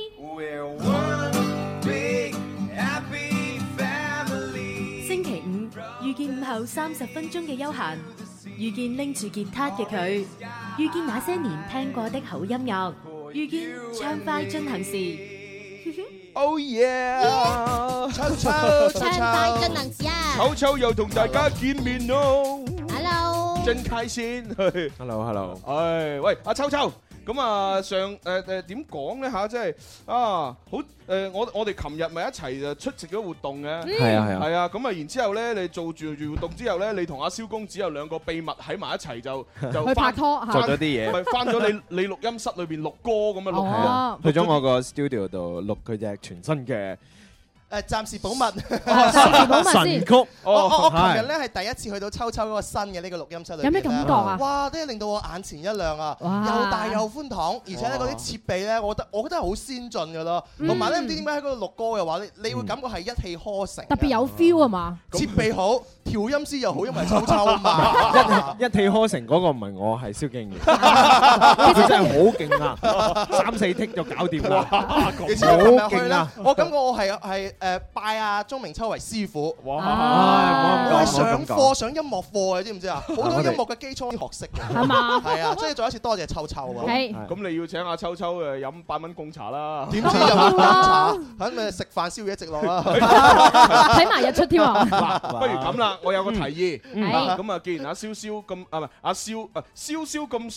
星期五遇見午後三十分鐘嘅悠閒，遇見拎住吉他嘅佢，遇見那些年聽過的好音樂，遇見暢快進行時。 Oh yeah！ 秋秋暢快進行時啊！ 秋秋又同大家見面咯。 Hello。 真開心。 Hello Hello。 唉，喂，阿秋秋。咁啊，上誒誒點講咧嚇，即係啊，好誒，我我哋琴日咪一齊就出席咗活動嘅， 係啊係啊， 係啊，咁啊，然之後咧，你做住住活動之後咧，你同阿蕭公子有兩個秘密喺埋一齊就就去拍拖， 做咗啲嘢， 咪翻咗你你錄音室裏邊錄歌咁樣錄嘅， 去咗我個 studio 度錄佢隻全新嘅。 誒暫時保密， 暫時保密先。 神曲， 我我我琴日咧係第一次去到秋秋嗰個新嘅呢個錄音室裏邊。 有咩感覺啊？ 哇！真係令到我眼前一亮啊！又大又寬敞，而且咧嗰啲設備咧，我覺得我覺得係好先進㗎咯。同埋咧，唔知點解喺嗰度錄歌嘅話，你你會感覺係一氣呵成。 特別有 feel 啊嘛！ 設備好，調音師又好，因為秋秋啊嘛。 一氣呵成嗰個唔係我，係蕭敬堯。佢真係好勁啊！三四剔就搞掂啦。好勁啊！ 我感覺我係係。誒拜阿鐘明秋為師傅， 哇！ 我係上課上音樂課嘅，知唔知啊？好多音樂嘅基礎學識嘅， 係嘛？ 係啊，所以再一次多謝秋秋啊！ 係， 咁你要請阿秋秋誒飲八蚊貢茶啦？ 點知又飲茶？咁咪食飯宵夜直落啦！ 睇埋日出添啊！ 嗱，不如咁啦，我有個提議，咁啊，既然阿蕭蕭咁啊唔係阿蕭啊蕭蕭咁想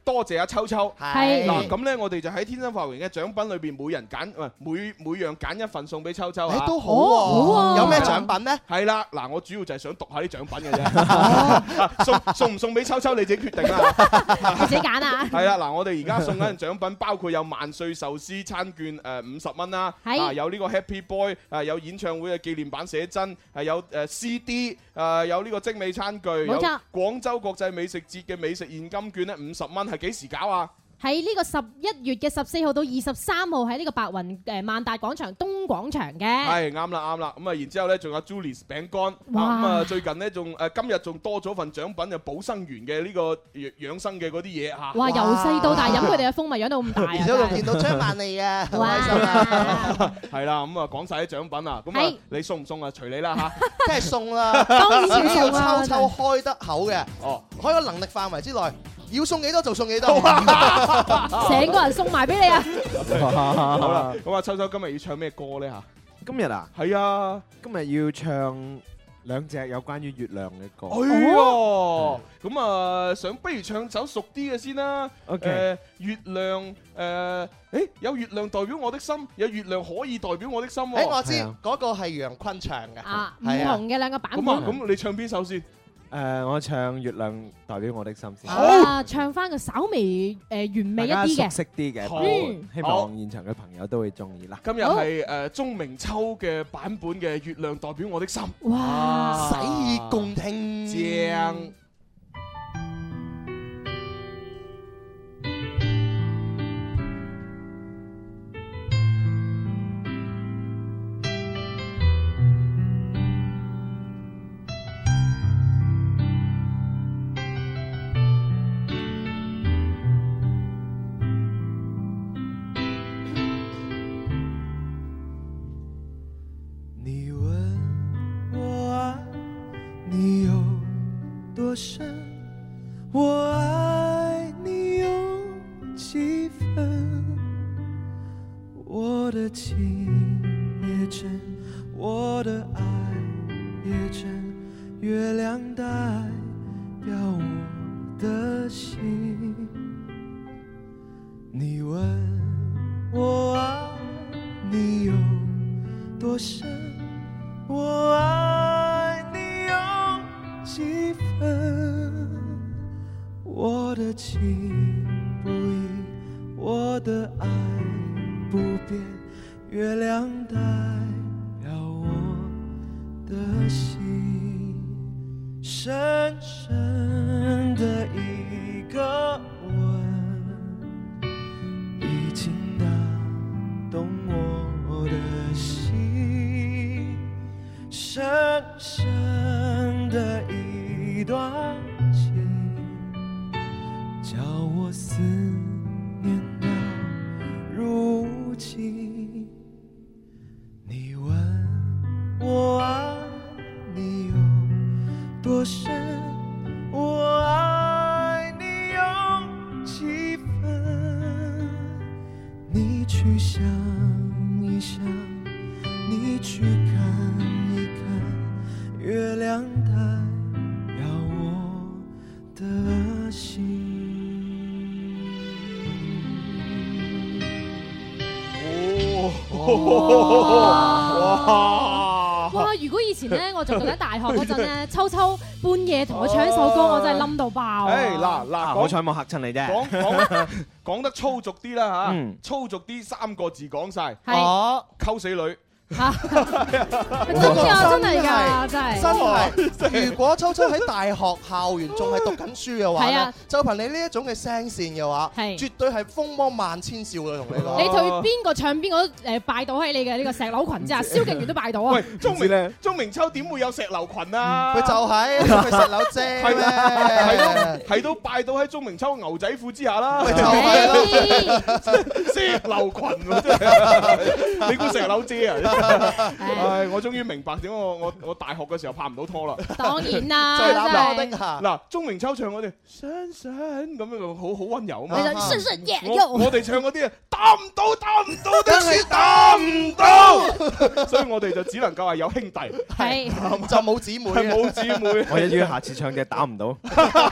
多謝阿秋秋。 係嗱，咁咧我哋就喺天生發榮嘅獎品裏邊，每人揀，唔係每每樣揀一份送俾秋秋啊。 都好喎，有咩獎品咧？ 係啦，嗱，我主要就係想讀下啲獎品嘅啫。送送唔送俾秋秋你自己決定啦。 你自己揀啊。 係啦，嗱，我哋而家送緊獎品包括有萬歲壽司餐券誒五十蚊啦，啊有呢個 Happy Boy， 啊有演唱會嘅紀念版寫真，係有誒 C D， 誒有呢個精美餐具，有廣州國際美食節嘅美食現金券咧五十蚊，係幾時搞啊？ 喺呢個十一月嘅十四號到二十三號喺呢個白雲誒萬達廣場東廣場嘅。 係啱啦啱啦，咁啊然之後咧仲有 Julie's 餅乾，咁啊最近咧仲誒今日仲多咗份獎品就寶生園嘅呢個養生嘅嗰啲嘢嚇。 哇！由細到大飲佢哋嘅蜂蜜養到咁大啊！ 而且仲見到張曼莉啊，好開心啊！ 係啦，咁啊講曬啲獎品啊，咁啊你送唔送啊？隨你啦嚇， 梗係送啦，當然要送啦。秋秋開得口嘅，哦，開個能力範圍之內。要送幾多就送幾多， 成個人送埋俾你啊！ 好啦，咁啊，秋秋今日要唱咩歌咧嚇？ 今日啊， 係啊， 今日要唱兩隻有關於月亮嘅歌。 哎呀，咁啊，想不如唱首熟啲嘅先啦。誒，月亮誒，誒有月亮代表我的心，有月亮可以代表我的心。 誒，我知嗰個係楊坤唱嘅。 啊，唔同嘅兩個版本。 咁啊，咁你唱邊首先？ 誒，我唱月亮代表我的心先。 啊，唱翻個稍微誒完美一啲嘅， 熟悉啲嘅，希望現場嘅朋友都會中意啦。 今日係誒鐘明秋嘅版本嘅《月亮代表我的心》。 哇！ 洗耳恭聽， 正。 我愛你有幾分，我的情也真，我的愛也真，月亮代表我的心。你問我愛你有多深，我愛你有幾分，我的情不移，我的愛不變，月亮代表我的心，深深的一個吻，已經打動我的心，深深的一段叫我思念到如今。你問我愛你有多深，我愛你有幾分，你去想一想，你去看一看，月亮代表我的心。 哇！哇！如果以前咧，我仲讀緊大學嗰陣咧，秋秋半夜同我唱一首歌，我真係冧到爆。 誒嗱嗱， 好彩冇嚇親你啫。 講講講得粗俗啲啦嚇，粗俗啲三個字講晒， 哦， 溝死女。 嚇！真㗎，真係㗎，真係。 真係。如果秋秋喺大學校園仲係讀緊書嘅話咧，就憑你呢一種嘅聲線嘅話，絕對係風魔萬千少女同你講。 你對邊個唱邊個誒拜倒喺你嘅呢個石榴裙之下，蕭敬元都拜倒啊！ 喂，鐘明鐘明秋點會有石榴裙啊？ 佢就係佢石榴姐， 係咩？係都係都拜倒喺鐘明秋牛仔褲之下啦。 咪就係咯， 石榴裙喎真係，你估石榴姐啊？唉，我終於明白點解我我我大學嘅時候拍唔到拖啦。 當然啦， 真係嗱，鐘明秋唱嗰啲深深咁樣好好溫柔啊嘛。 深深夜我我哋唱嗰啲啊，打唔到打唔到的是打唔到，所以我哋就只能夠係有兄弟， 係就冇姊妹， 係冇姊妹。 我一於下次唱嘅打唔到。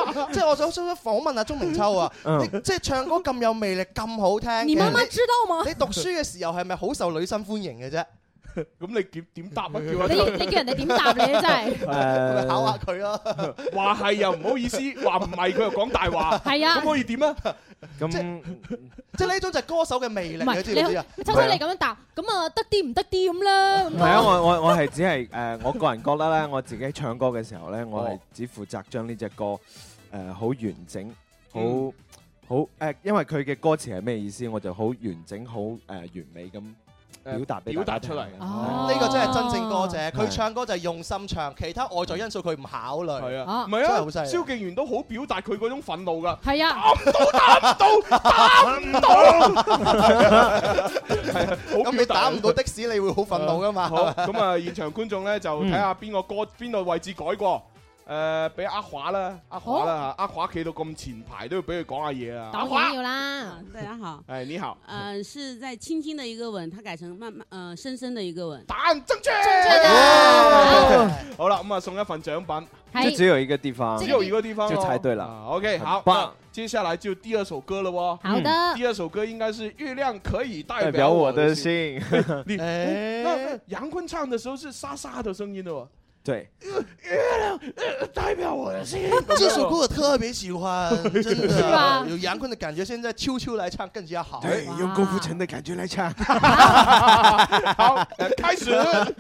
即係我想想訪問下鐘明秋啊，你即係唱歌咁有魅力，咁好聽。 你媽媽知道嗎？ 你讀書嘅時候係咪好受女生歡迎嘅啫？ 咁你點點答啊？叫你你叫人哋點答你啊？真係誒，考下佢咯。 話係又唔好意思，話唔係佢又講大話。 係啊， 咁可以點啊？ 咁即係呢種就係歌手嘅魅力，你知唔知啊？ 秋秋你咁樣答，咁啊得啲唔得啲咁啦。 係啊，我我我係只係誒，我個人覺得咧，我自己唱歌嘅時候咧，我係只負責將呢隻歌誒好完整，好好誒，因為佢嘅歌詞係咩意思，我就好完整，好誒完美咁。表達表達出嚟， 呢個真係真正歌者。佢唱歌就係用心唱，其他外在因素佢唔考慮。 係啊，唔係啊，蕭敬元都好表達佢嗰種憤怒㗎。 係啊， 打唔到，打唔到，打唔到。 咁你打唔到的士，你會好憤怒㗎嘛？ 好，咁啊，現場觀眾咧就睇下邊個歌邊個位置改過。誒，俾阿華啦，阿華啦嚇，阿華企到咁前排都要俾佢講下嘢啊！ 當然要啦， 大家好。 哎，你好。 呃，是在輕輕的一個吻，他改成慢慢，呃，深深的一個吻。 答案正確。 正確的。 好了，咁啊送一份獎品。 就只有一個地方， 只有一個地方就猜對了。 OK，好，那接下來就第二首歌了喎。 好的。 第二首歌應該是《月亮可以代表我的心》。 你那楊坤唱的時候是沙沙的聲音的喎。 對， 月亮代表我的心。 這首歌我特別喜歡，真的有楊坤的感覺。現在秋秋來唱更加好。 對，用郭富城的感覺來唱。 好，開始。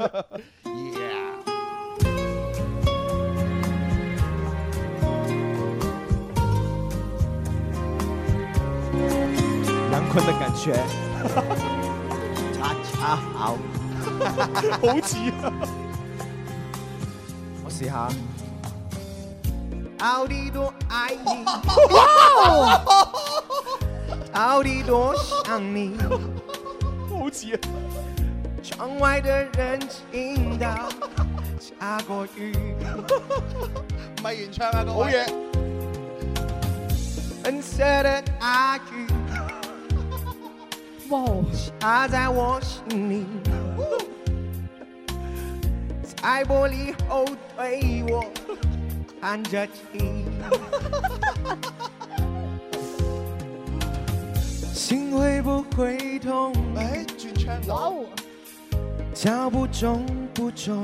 楊坤的感覺，恰恰好， 好似啊！ 我試下。到底多愛你，到底多想你， 好似啊！ 窗外的人聽到下過雨， 唔係原唱啊，各位。 好嘢。 粉色的大雨， 哇， 下在我心裏，在玻璃後對我看着你，心會不會痛？ 哎，轉唱哇， 腳步重不重？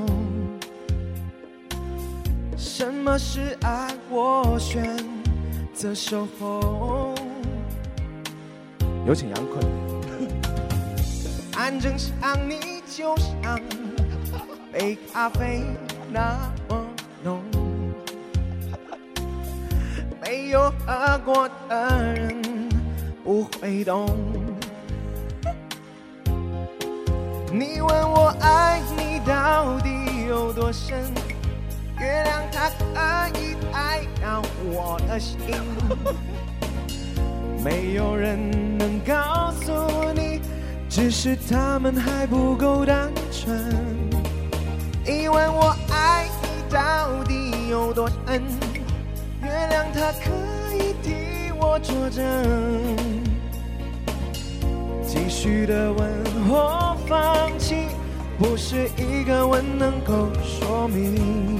什麼是愛？我選擇守候。有請楊坤。安靜想你，就像杯咖啡那麼濃，沒有喝過的人不會懂。你問我愛你到底有多深？月亮它可以代表我的心，沒有人能告訴你，只是他們還不夠單純。你問我愛你到底有多深？月亮它可以替我作證，繼續的吻或放棄，不是一個吻能夠說明。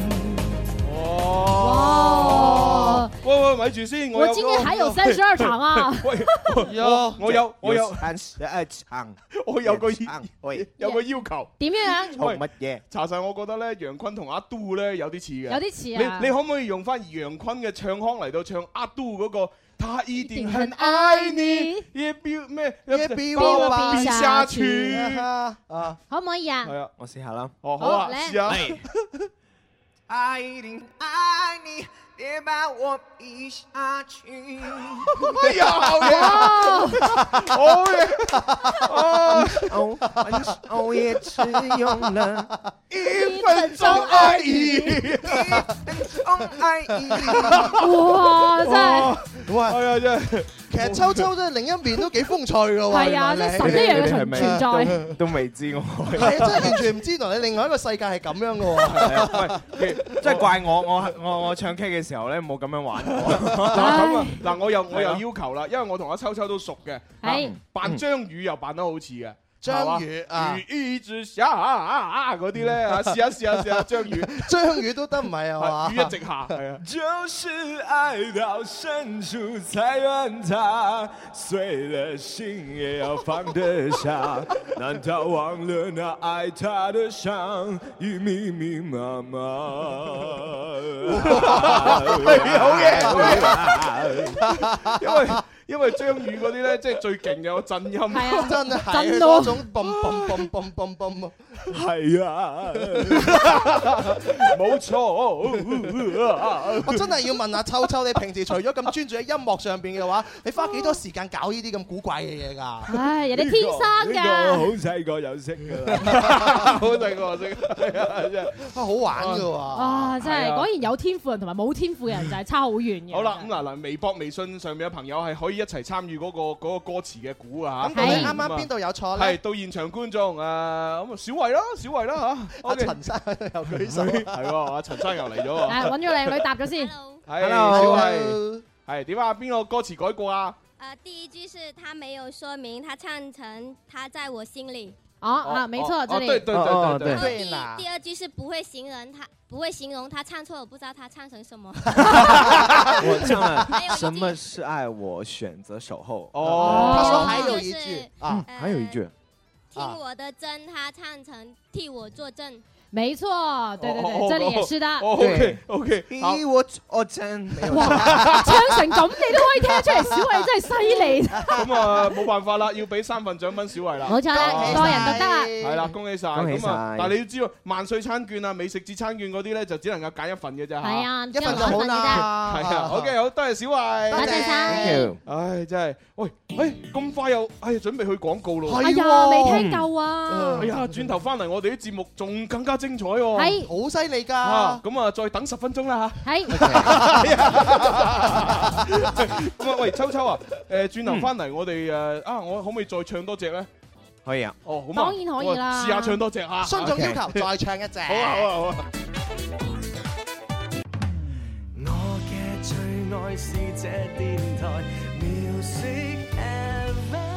哇！喂喂，咪住先， 我今天還有三十二場啊！ 喂，有我有我有三十二場， 我有個喂有個要求。 點樣啊？ 喂乜嘢？ 查實我覺得咧，楊坤同阿都咧有啲似嘅。 有啲似啊！ 你你可唔可以用翻楊坤嘅唱腔嚟到唱阿都嗰個？他一定很愛你，也比咩也比我比下去啊！ 可唔可以啊？ 係啊， 我試下啦。 哦，好啊，試下。 他一定愛你，別把我比下去。 哎呀，好嘢，好嘢， 哦，分手也只用了一分鐘而已， 一分鐘而已。 哇，真係， 哇， 係啊，真係。 其實秋秋真係另一面都幾風趣㗎喎。 係啊，即係神一樣嘅存存在。 都未知我。 係啊，真係完全唔知道你另外一個世界係咁樣㗎喎。 喂，即係怪我，我我我唱 K 嘅時候咧冇咁樣玩過。 嗱咁啊，嗱我又我又要求啦，因為我同阿秋秋都熟嘅，扮張宇又扮得好似嘅。 張宇啊， 雨一直下啊嗰啲咧啊，試下試下試下張宇， 張宇都得唔係啊嘛？ 雨一直下係啊。 就是愛到深處才怨他，碎了心也要放得下。難道忘了那愛他的傷已密密麻麻？ 好嘢，好嘢，因為。因為張宇嗰啲咧，即係最勁嘅個震音， 係啊，真係嗰種嘣嘣嘣嘣嘣嘣， 係啊，冇錯。 我真係要問下秋秋，你平時除咗咁專注喺音樂上邊嘅話，你花幾多時間搞呢啲咁古怪嘅嘢㗎？ 唉，人哋天生㗎。 呢個好細個就識㗎啦， 好細個就識，係啊，真係好玩㗎喎。 啊，真係果然有天賦人同埋冇天賦嘅人就係差好遠嘅。 好啦，咁嗱嗱，微博、微信上面嘅朋友係可以一齊參與嗰個嗰個歌詞嘅估啊嚇。 咁你啱啱邊度有錯咧？ 係到現場觀眾誒，咁啊小慧啦，小慧啦嚇。 阿陳生又舉手， 係喎，阿陳生又嚟咗喎。 誒，揾咗靚女答咗先。 係，小慧係點啊？邊個歌詞改過啊？ 呃，第一句是他沒有說明，他唱成他在我心裡。 哦啊，沒錯，這裡。 對對對對對。然後第第二句是不會形容他，不會形容他唱錯，我不知道他唱成什麼。 我唱了什麼是愛，我選擇守候。 哦， 他說還有一句啊，還有一句。 聽我的真，他唱成替我作證。 沒錯，對對對，這裡也是的。 OK OK， 替我作證。 哇，唱成咁你都可以聽得出嚟，小慧真係犀利。 咁啊，冇辦法啦，要俾三份獎品小慧啦。 冇錯啦，個人獨得啊。 係啦，恭喜晒。 恭喜晒。 咁啊，但係你要知道，萬歲餐券啊、美食節餐券嗰啲咧，就只能夠揀一份嘅啫嚇。 係啊， 一份就好啦。 係啊 ，OK，好，多謝小慧。 多謝晒。 唉，真係，喂，誒，咁快又，哎呀，準備去廣告咯。 係啊，未聽夠啊。 哎呀，轉頭翻嚟，我哋啲節目仲更加精彩喎。 係。 好犀利㗎！ 咁啊，再等十分鐘啦嚇。 係。 咁啊，喂，秋秋啊，誒，轉頭翻嚟，我哋誒啊，我可唔可以再唱多隻咧？ 可以啊。 哦，好嘛。 當然可以啦。 試下唱多隻嚇。 觀眾要求再唱一隻。 好啊，好啊，好啊。 我嘅最愛是這電台 Music F M。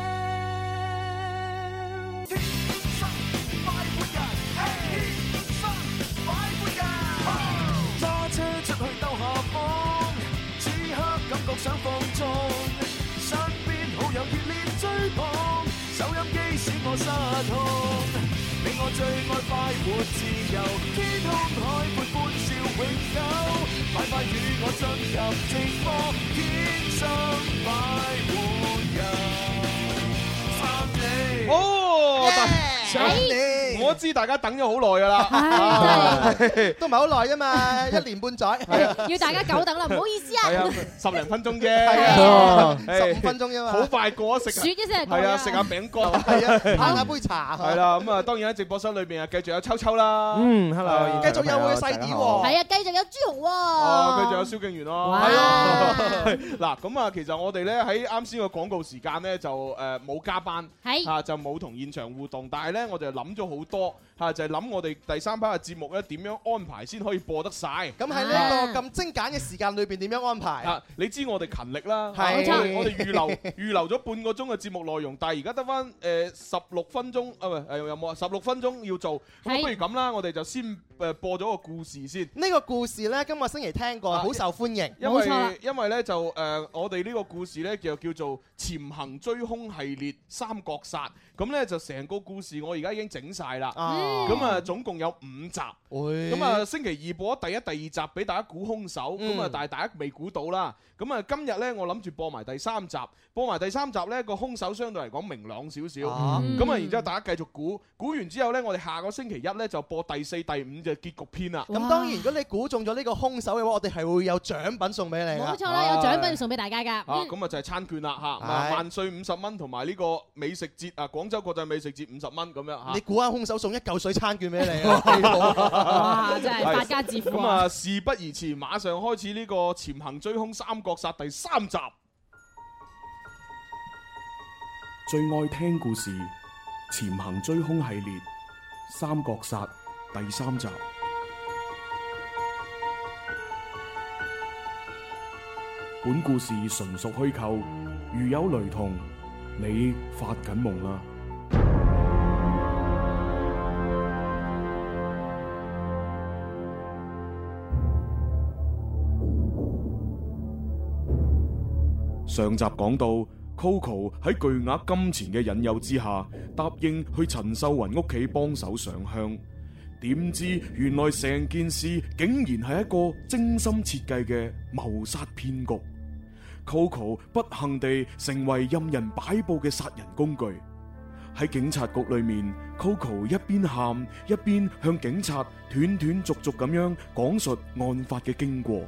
出去兜下風，此刻感覺想放縱，身邊好友熱烈追捧，收音機使我失控。你我最愛快活自由，天空海闊歡笑永久，快快與我進入直播，天生快活人，撐你。哦，想你。我知大家等咗好耐㗎啦， 都唔係好耐啫嘛，一年半載。 要大家久等啦，唔好意思啊。 係啊，十零分鐘啫， 十五分鐘啫嘛。 好快過啊，食數一聲。 係啊，食下餅乾， 係啊，嘆下杯茶。 係啦，咁啊，當然喺直播室裏邊啊，繼續有秋秋啦。 嗯 ，hello， 繼續有我嘅細啲喎。 係啊，繼續有朱紅喎。 哦，繼續有蕭敬元咯。 係啊。嗱，咁啊，其實我哋咧喺啱先個廣告時間咧就誒冇加班， 係啊就冇同現場互動，但係咧我哋諗咗好多嚇，就係諗我哋第三 part 嘅節目咧點樣安排先可以播得晒。 咁喺呢個咁精簡嘅時間裏邊點樣安排？ 啊，你知我哋勤力啦， 係我哋預留預留咗半個鐘嘅節目內容，但係而家得翻誒十六分鐘啊，唔係誒有冇啊？十六分鐘要做，咁不如咁啦，我哋就先誒播咗個故事先。 呢個故事咧，今個星期聽過，好受歡迎。 因為因為咧就誒我哋呢個故事咧就叫做潛行追兇系列三國殺，咁咧就成個故事我而家已經整晒啦。咁啊總共有五集，咁啊星期二播咗第一、第二集俾大家估兇手，咁啊但係大家未估到啦。咁啊今日咧我諗住播埋第三集，播埋第三集咧個兇手相對嚟講明朗少少，咁啊然之後大家繼續估，估完之後咧我哋下個星期一咧就播第四、第五嘅結局篇啦。 咁當然如果你估中咗呢個兇手嘅話，我哋係會有獎品送俾你。 冇錯啦，有獎品送俾大家㗎。 啊咁啊就係餐券啦嚇，萬歲五十蚊同埋呢個美食節啊，廣州國際美食節五十蚊咁樣嚇。 你估下兇手送一嚿水餐券俾你啊！ 哇！真係發家致富。 咁啊，事不宜遲，馬上開始呢個潛行追兇三國殺第三集。 最愛聽故事《潛行追兇系列三國殺》第三集。本故事純屬虛構，如有雷同，你發緊夢啦。 上集講到 Coco 喺巨額金錢嘅引誘之下，答應去陳秀雲屋企幫手上香。點知原來成件事竟然係一個精心設計嘅謀殺騙局。Coco 不幸地成為任人擺布嘅殺人工具。喺警察局裏面 ，Coco 一邊喊一邊向警察斷斷續續咁樣講述案發嘅經過。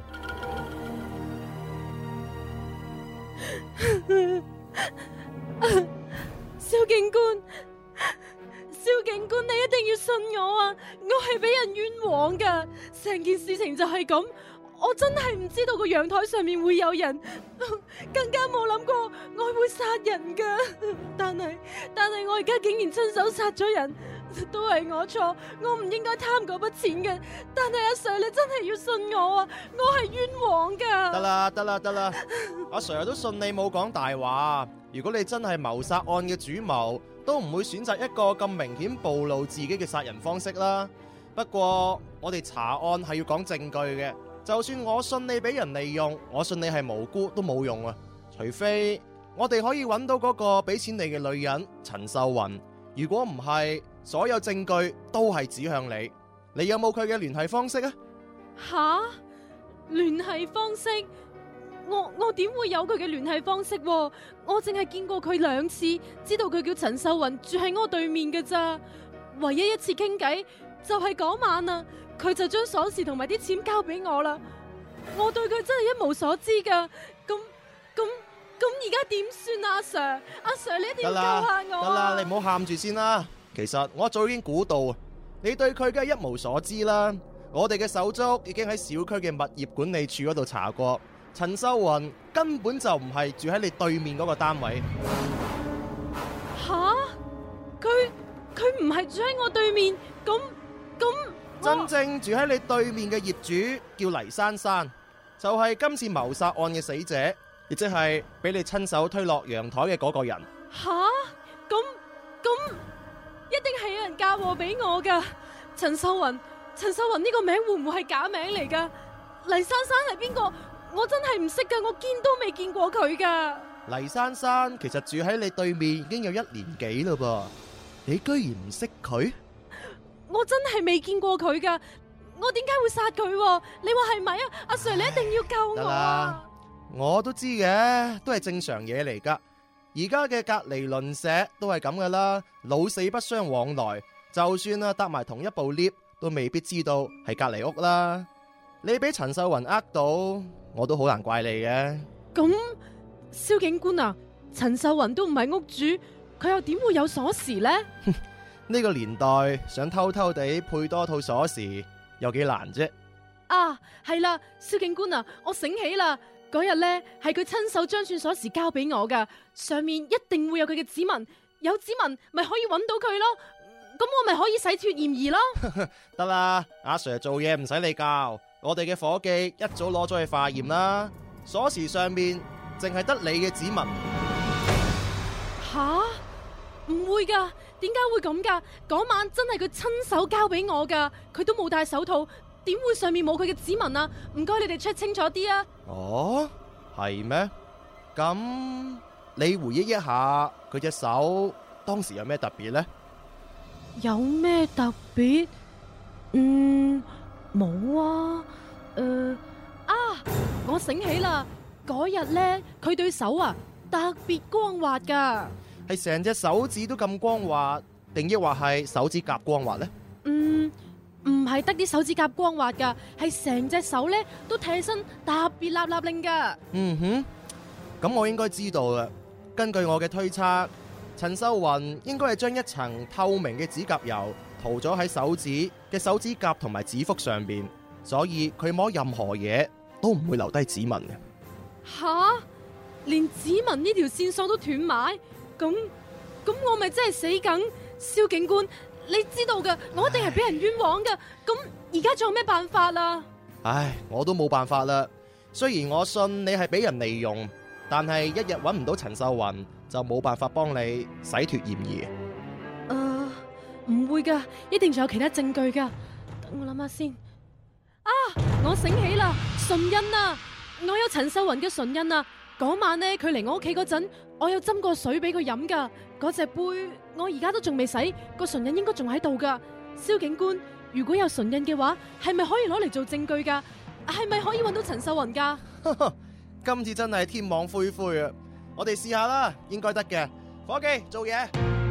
蕭警官，蕭警官，你一定要信我啊！我係俾人冤枉噶，成件事情就係咁。我真係唔知道個陽台上面會有人，更加冇諗過我會殺人噶。但係但係我而家竟然親手殺咗人，都係我錯，我唔應該貪嗰筆錢嘅。但係阿 Sir， 你真係要信我啊！我係冤枉噶。 得啦得啦得啦，阿 Sir 都信你冇講大話。如果你真係謀殺案嘅主謀，都唔會選擇一個咁明顯暴露自己嘅殺人方式啦。不過我哋查案係要講證據嘅。就算我信你俾人利用，我信你係無辜都冇用啊！除非我哋可以揾到嗰個俾錢你嘅女人陳秀雲。如果唔係，所有證據都係指向你。你有冇佢嘅聯繫方式啊？ 吓？聯繫方式？我我點會有佢嘅聯繫方式？我淨係見過佢兩次，知道佢叫陳秀雲，住喺我對面嘅咋。唯一一次傾偈就係嗰晚啊！佢就將鎖匙同埋啲錢交俾我啦，我對佢真係一無所知噶。咁咁咁而家點算啊？阿 Sir， 阿 Sir 你一定要救下我啊！ 得啦，你唔好喊住先啦。其實我早已經估到，你對佢梗係一無所知啦。我哋嘅手足已經喺小區嘅物業管理處嗰度查過，陳秀雲根本就唔係住喺你對面嗰個單位。 吓？佢佢唔係住喺我對面，咁咁。 真正住喺你對面嘅業主叫黎珊珊，就係今次謀殺案嘅死者，亦即係俾你親手推落陽台嘅嗰個人。 吓？咁咁一定係有人嫁禍俾我噶。陳秀雲，陳秀雲呢個名會唔會係假名嚟噶？黎珊珊係邊個？我真係唔識噶，我見都未見過佢噶。 黎珊珊其實住喺你對面已經有一年幾啦噃，你居然唔識佢？ 我真係未見過佢噶，我點解會殺佢？你話係咪啊？阿 Sir， 你一定要救我啊！ 我都知嘅，都係正常嘢嚟噶。而家嘅隔離鄰舍都係咁噶啦，老死不相往來。就算啊搭埋同一部 lift，都未必知道係隔離屋啦。你俾陳秀雲呃到，我都好難怪你嘅。 咁，蕭警官啊，陳秀雲都唔係屋主，佢又點會有鎖匙呢？ 呢個年代想偷偷地配多套鎖匙有幾難啫？ 啊，係啦，蕭警官啊，我醒起啦，嗰日呢係佢親手將串鎖匙交俾我噶，上面一定會有佢嘅指紋，有指紋咪可以揾到佢咯，咁我咪可以洗脫嫌疑咯。 得啦，阿 Sir 做嘢唔使你教，我哋嘅伙計一早攞咗去化驗啦，鎖匙上面淨係得你嘅指紋。 吓？唔會噶，點解會咁噶？嗰晚真係佢親手交俾我噶，佢都冇戴手套，點會上面冇佢嘅指紋啊？唔該，你哋 check 清楚啲啊！ 哦，係咩？咁你回憶一下佢隻手當時有咩特別呢？ 有咩特別？嗯，冇啊。誒、呃，啊，我醒起啦，嗰日呢，佢對手啊特別光滑噶。 係成隻手指都咁光滑，定抑或係手指甲光滑呢？ 嗯，唔係得啲手指甲光滑噶，係成隻手咧都睇起身特別立立令噶。 嗯哼，咁我應該知道啦。根據我嘅推測，陳秀雲應該係將一層透明嘅指甲油塗咗喺手指嘅手指甲同埋指腹上邊，所以佢摸任何嘢都唔會留低指紋嘅。 吓，連指紋呢條線索都斷埋？咁咁我咪真係死梗，蕭警官，你知道噶，我一定係俾人冤枉噶。咁而家仲有咩辦法啊？ 唉，我都冇辦法啦。雖然我信你係俾人利用，但係一日搵唔到陳秀雲，就冇辦法幫你洗脫嫌疑。 誒、uh, 唔會噶，一定仲有其他證據噶。等我諗下先。啊，我醒起啦，唇印啊，我有陳秀雲嘅唇印啊。 嗰晚呢，佢嚟我屋企嗰陣，我有斟過水俾佢飲噶。嗰隻杯我而家都仲未洗，個唇印應該仲喺度噶。蕭警官，如果有唇印嘅話，係咪可以攞嚟做證據噶？係咪可以揾到陳秀雲噶？ 今次真係天網恢恢啊！我哋試下啦，應該得嘅。伙計，做嘢。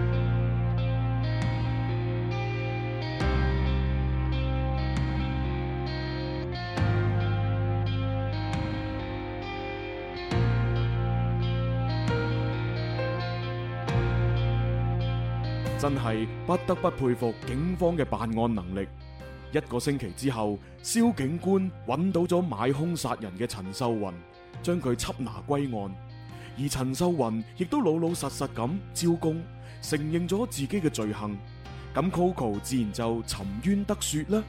真係不得不佩服警方嘅辦案能力。一個星期之後，蕭警官揾到咗買兇殺人嘅陳秀雲，將佢緝拿歸案。而陳秀雲亦都老老實實咁招供，承認咗自己嘅罪行。咁 Coco 自然就沉冤得雪啦。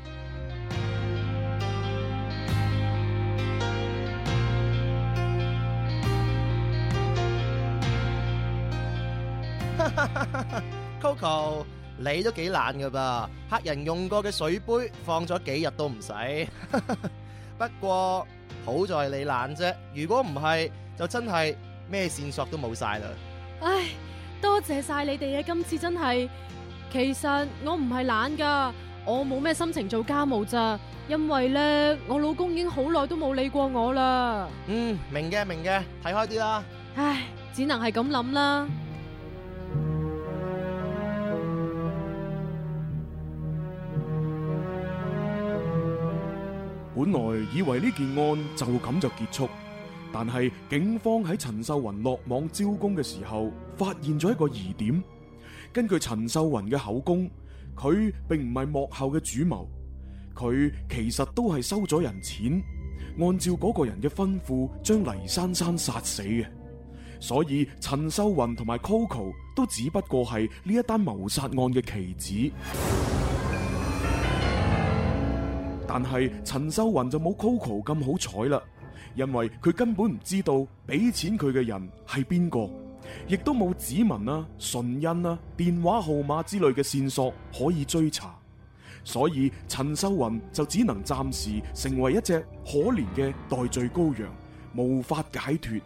Coco， 你都幾懶噶噃，客人用過嘅水杯放咗幾日都唔使。不過好在你懶啫，如果唔係就真係咩線索都冇晒啦。 唉，多謝晒你哋啊！今次真係，其實我唔係懶噶，我冇咩心情做家務咋，因為咧我老公已經好耐都冇理過我啦。 嗯，明嘅明嘅，睇開啲啦。 唉，只能係咁諗啦。 本來以為呢件案就咁就結束，但係警方喺陳秀雲落網招供嘅時候，發現咗一個疑點。根據陳秀雲嘅口供，佢並唔係幕後嘅主謀，佢其實都係收咗人錢，按照嗰個人嘅吩咐將黎珊珊殺死嘅。所以陳秀雲同埋 Coco 都只不過係呢一單謀殺案嘅棋子。但係陳秀雲就冇 Coco 咁好彩啦，因為佢根本唔知道俾錢佢嘅人係邊個，亦都冇指紋啊、唇印啊、電話號碼之類嘅線索可以追查，所以陳秀雲就只能暫時成為一隻可憐嘅代罪羔羊，無法解脫。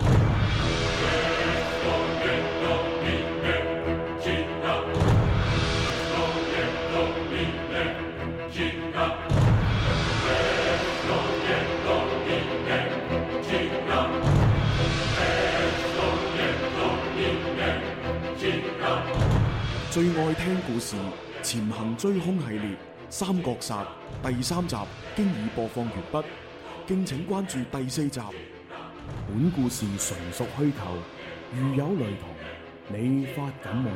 最愛聽故事《潛行追兇》系列《三國殺》第三集經已播放完畢，敬請關注第四集。本故事純屬虛構，如有雷同，你發感夢。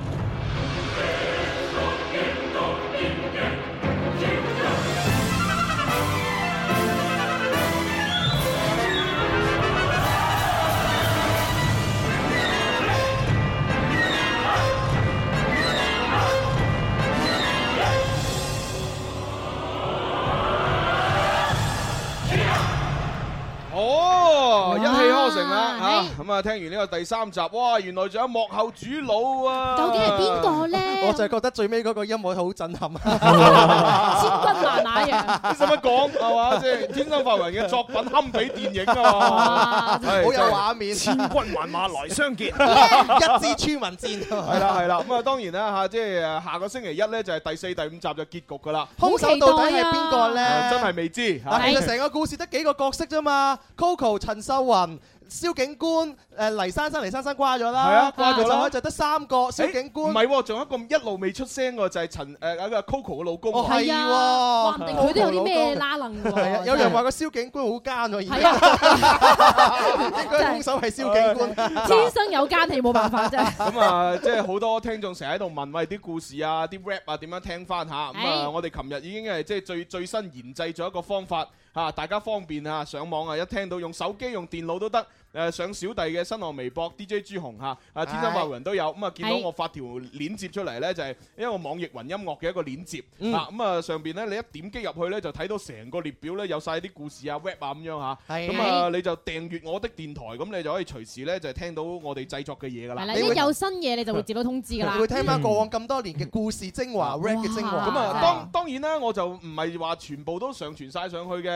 哦，一氣呵成啦嚇！咁啊，聽完呢個第三集，哇，原來仲有幕後主腦啊！ 究竟係邊個咧？ 我就係覺得最尾嗰個音樂好震撼啊！ 千軍萬馬樣， 你使乜講係嘛？即係天生發雲嘅作品堪比電影啊！ 好有畫面， 千軍萬馬來相見， 一支穿雲箭。 係啦係啦，咁啊當然啦嚇，即係下個星期一咧就係第四、第五集就結局㗎啦。 兇手到底係邊個咧？ 真係未知。 但其實成個故事得幾個角色啫嘛 ，Coco、陳秀雲、蕭警官、誒黎珊珊，黎珊珊瓜咗啦， 係啊，瓜咗啦， 就得三個。蕭警官唔係喎，仲有一個一路未出聲嘅就係陳誒嗰個 Coco 嘅老公。 哦，係喎，話唔定佢都有啲咩拉楞喎。 係啊，有人話個蕭警官好奸喎，而家應該兇手係蕭警官， 天生有奸氣冇辦法啫。 咁啊，即係好多聽眾成日喺度問，喂啲故事啊、啲 rap 啊點樣聽翻嚇？咁啊，我哋琴日已經係即係最最新研製咗一個方法嚇，大家方便嚇上網啊，一聽到用手機用電腦都得。誒上小弟嘅新浪微博 D J 朱紅嚇，啊天生快活人都有，咁啊見到我發條鏈接出嚟咧，就係一個網易雲音樂嘅一個鏈接，啊咁啊上邊咧你一點擊入去咧就睇到成個列表咧有曬啲故事啊 rap 啊咁樣嚇，咁啊你就訂閱我的電台，咁你就可以隨時咧就聽到我哋製作嘅嘢㗎啦。 係啦，一有新嘢你就會接到通知㗎啦。 會聽翻過往咁多年嘅故事精華 rap 嘅精華。 咁啊當當然啦，我就唔係話全部都上傳曬上去嘅，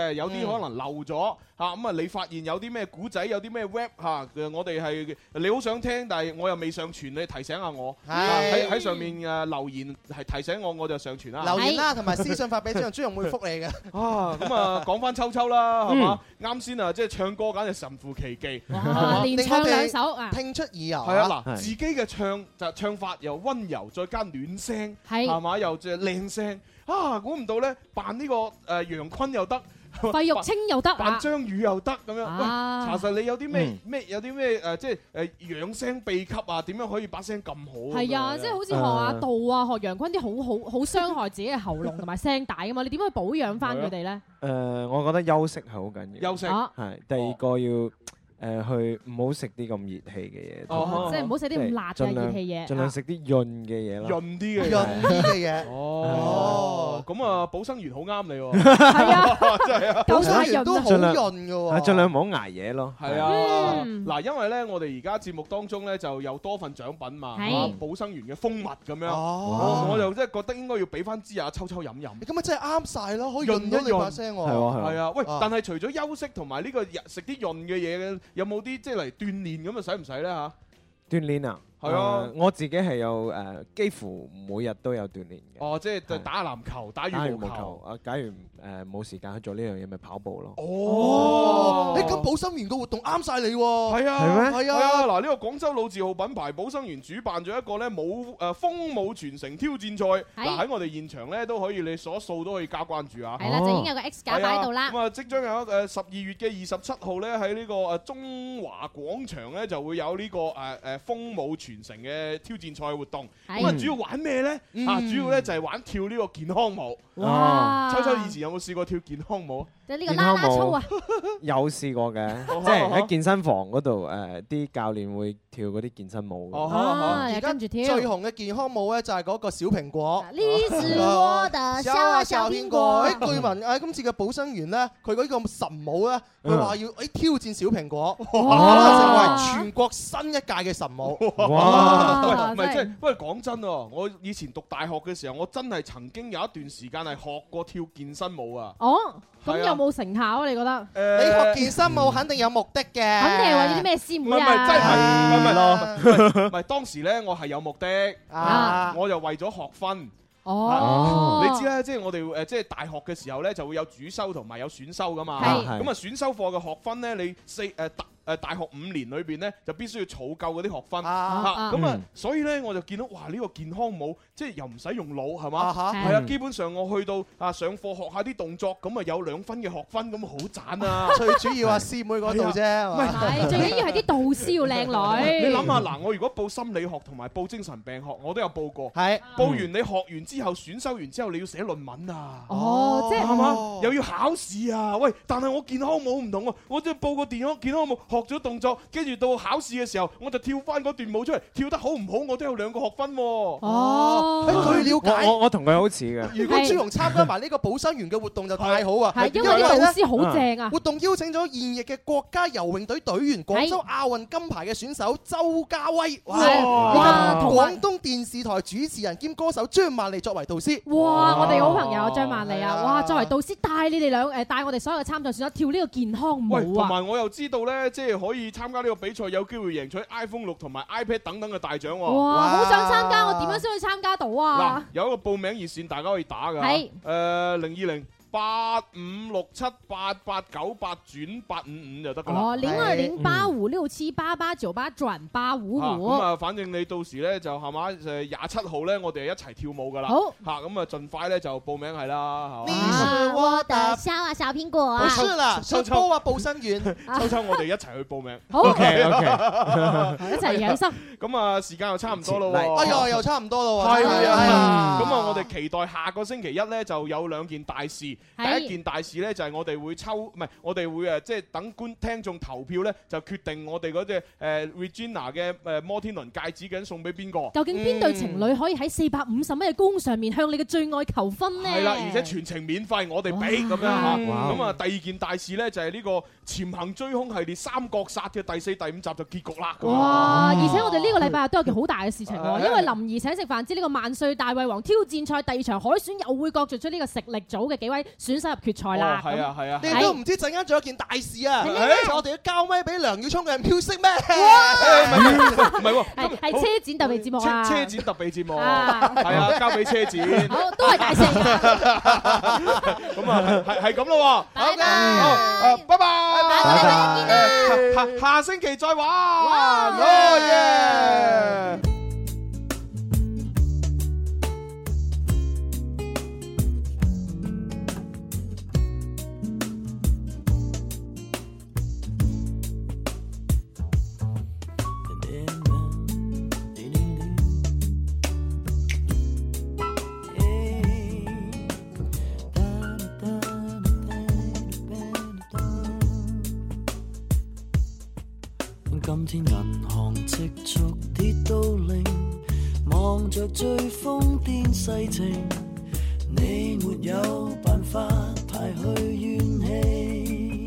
嘅，有啲可能漏咗嚇。咁啊，你發現有啲咩古仔，有啲咩 rap 嚇，我哋係你好想聽，但係我又未上傳，你提醒下我喺喺上面誒留言係提醒我，我就上傳啦。 留言啦，同埋私信發俾朱紅，朱紅會覆你嘅。 啊，咁啊講翻秋秋啦，係嘛？啱先啊，即係唱歌簡直神乎其技， 連唱兩首啊， 聽出耳油。 係啊，嗱，自己嘅唱就唱法又溫柔，再加暖聲，係嘛，又即係靚聲。啊，估唔到咧，扮呢個誒楊坤又得。 費玉清又得， 扮張宇又得咁樣。喂，查實你有啲咩嗯咩有啲咩誒，即係誒養聲秘笈啊？點樣可以把聲咁好？ 係啊，即係好似學阿杜啊、學楊坤啲好好好傷害自己嘅喉嚨同埋聲帶噶嘛？你點樣去保養翻佢哋咧？ 誒，我覺得休息係好緊要。 休息係第二個要。誒去唔好食啲咁熱氣嘅嘢， 哦，即係唔好食啲咁辣嘅熱氣嘢， 盡量食啲潤嘅嘢咯， 潤啲嘅潤啲嘅嘢。 哦，咁啊，保生元好啱你喎。 係啊， 真係啊， 保生元都好潤㗎喎。 盡量唔好捱夜咯。 係啊，嗱，因為咧，我哋而家節目當中咧就有多份獎品嘛，保生元嘅蜂蜜咁樣。哦，我就真係覺得應該要俾翻支阿秋秋飲飲。 咁啊，真係啱晒咯，可以潤到你把聲喎。 係喎， 係啊。喂，但係除咗休息同埋呢個食啲潤嘅嘢嘅。有冇啲即係嚟鍛鍊咁啊？使唔使咧嚇？ 鍛鍊啊！ 係啊， 我自己係有誒，幾乎每日都有鍛鍊嘅。 哦，即係打籃球、打羽毛球。 啊，假如誒冇時間去做呢樣嘢，咪跑步咯。 哦，誒咁保生元個活動啱晒你喎。 係啊， 係咩？係啊。 嗱，呢個廣州老字號品牌保生元主辦咗一個咧舞誒風舞傳承挑戰賽。嗱，喺我哋現場咧都可以，你數一數都可以加關注啊。 係啦，就已經有個 X 架擺喺度啦。 咁啊，即將有誒十二月嘅二十七號咧喺呢個誒中華廣場咧就會有呢個誒誒風舞傳承嘅挑戰賽活動。咁啊，主要玩咩咧？啊，主要咧就係玩跳呢個健康舞。哇！秋秋以前有冇試過跳健康舞？ 就呢個啦啦操啊！ 有試過嘅，即係喺健身房嗰度誒，啲教練會跳嗰啲健身舞。 哦，又跟住跳。 最紅嘅健康舞咧就係嗰個小蘋果。 呢是我的小小蘋果。 誒，據聞誒今次嘅保生元咧，佢嗰個神舞咧，佢話要誒挑戰小蘋果，成為全國新一屆嘅神舞。 哇！唔係即係，不過講真喎，我以前讀大學嘅時候，我真係曾經有一段時間係學過跳健身舞啊。 哦，咁有冇成效啊？你覺得？ 誒，你學健身舞肯定有目的嘅， 肯定係為咗啲咩師妹啊？ 唔係，真係唔係咯。唔係當時咧，我係有目的啊，我就為咗學分。哦，你知啦，即係我哋誒，即係大學嘅時候咧，就會有主修同埋有選修噶嘛。係。咁啊，選修課嘅學分咧，你四誒特。誒大學五年裏邊咧，就必須要儲夠嗰啲學分嚇，咁啊，所以咧我就見到哇呢個健康舞，即係又唔使用腦係嘛，係啊，基本上我去到啊上課學下啲動作，咁啊有兩分嘅學分，咁好賺啊！ 最主要啊師妹嗰度啫， 唔係最緊要係啲導師要靚女。 你諗下嗱，我如果報心理學同埋報精神病學，我都有報過。 係報完你學完之後，選修完之後，你要寫論文啊。 哦，即係係嘛，又要考試啊！喂，但係我健康舞唔同喎，我即係報個健康健康舞。學咗動作，跟住到考試嘅時候，我就跳翻嗰段舞出嚟，跳得好唔好，我都有兩個學分喎。 哦， 據了解， 我我同佢好似嘅。 如果朱紅參加埋呢個保生元嘅活動就太好啊！ 係因為啲老師好正啊。 活動邀請咗現役嘅國家游泳隊隊員、廣州亞運金牌嘅選手周家威，哇！廣東電視台主持人兼歌手張曼莉作為導師。 哇！我哋好朋友張曼莉啊，哇！作為導師帶你哋兩誒帶我哋所有嘅參賽選手跳呢個健康舞啊！ 同埋我又知道咧，即係可以參加呢個比賽，有機會贏取 iPhone 六同埋 iPad 等等嘅大獎喎。 哇！好想參加，我點樣先可以參加到啊？ 嗱，有一個報名熱線，大家可以打㗎。係誒零二零八五六七八八九八轉八五五就得㗎啦。 哦，零二零八五六七八八九八轉八五五。 咁啊，反正你到時咧就係嘛，誒廿七號咧，我哋一齊跳舞㗎啦。 好嚇，咁啊，盡快咧就報名係啦。 你是我的小啊小蘋果啊！ 不是啦，秋秋啊，報生元， 秋秋我哋一齊去報名。 好 OK OK， 一齊養生。 咁啊，時間又差唔多咯喎。 哎呀，又差唔多咯喎。 係啊，咁啊，我哋期待下個星期一咧就有兩件大事。第一件大事咧就係我哋會抽，唔係我哋會誒，即係等觀聽眾投票咧，就決定我哋嗰隻誒 Regina 嘅誒摩天輪戒指究竟送俾邊個？ 究竟邊對情侶可以喺四百五十蚊嘅高上面向你嘅最愛求婚呢？ 係啦，而且全程免費，我哋俾咁樣嚇。咁啊，第二件大事咧就係呢個潛行追兇系列三國殺嘅第四、第五集就結局啦。 哇！而且我哋呢個禮拜都有件好大嘅事情喎，因為林兒請食飯之呢個萬歲大胃王挑戰賽第二場海選又會角逐出呢個食力組嘅幾位選手入決賽啦。 係啊係啊， 你都唔知陣間仲有件大事啊！我哋要交咪俾梁耀聰嘅 music 咩？ 唔係喎， 係係車展特別節目啊！ 車展特別節目係啊，交俾車展。 好，都係大事。 咁啊，係係咁咯喎。 拜拜。 好，拜拜。下下下星期再玩。哦耶！ 今天銀行積蓄跌到零，望着最瘋癲世情，你沒有辦法排去怨氣，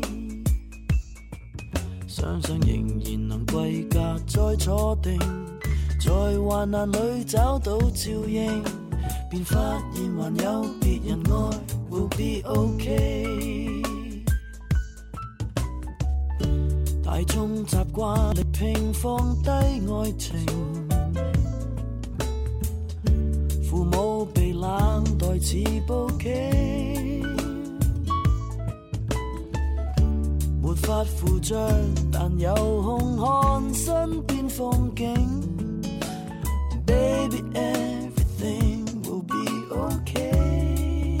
想想仍然能歸家再坐定，在患難裏找到照應，便發現還有別人愛 will be okay。大眾習慣力拼放低愛情，父母被冷待似報警，沒法扶著，但有空看身邊風景。Baby everything will be okay，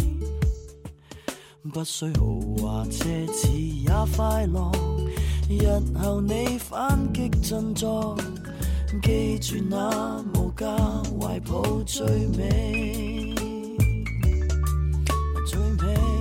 不需豪華奢侈也快樂。日後你反擊振作，記住那無價懷抱最美，最美。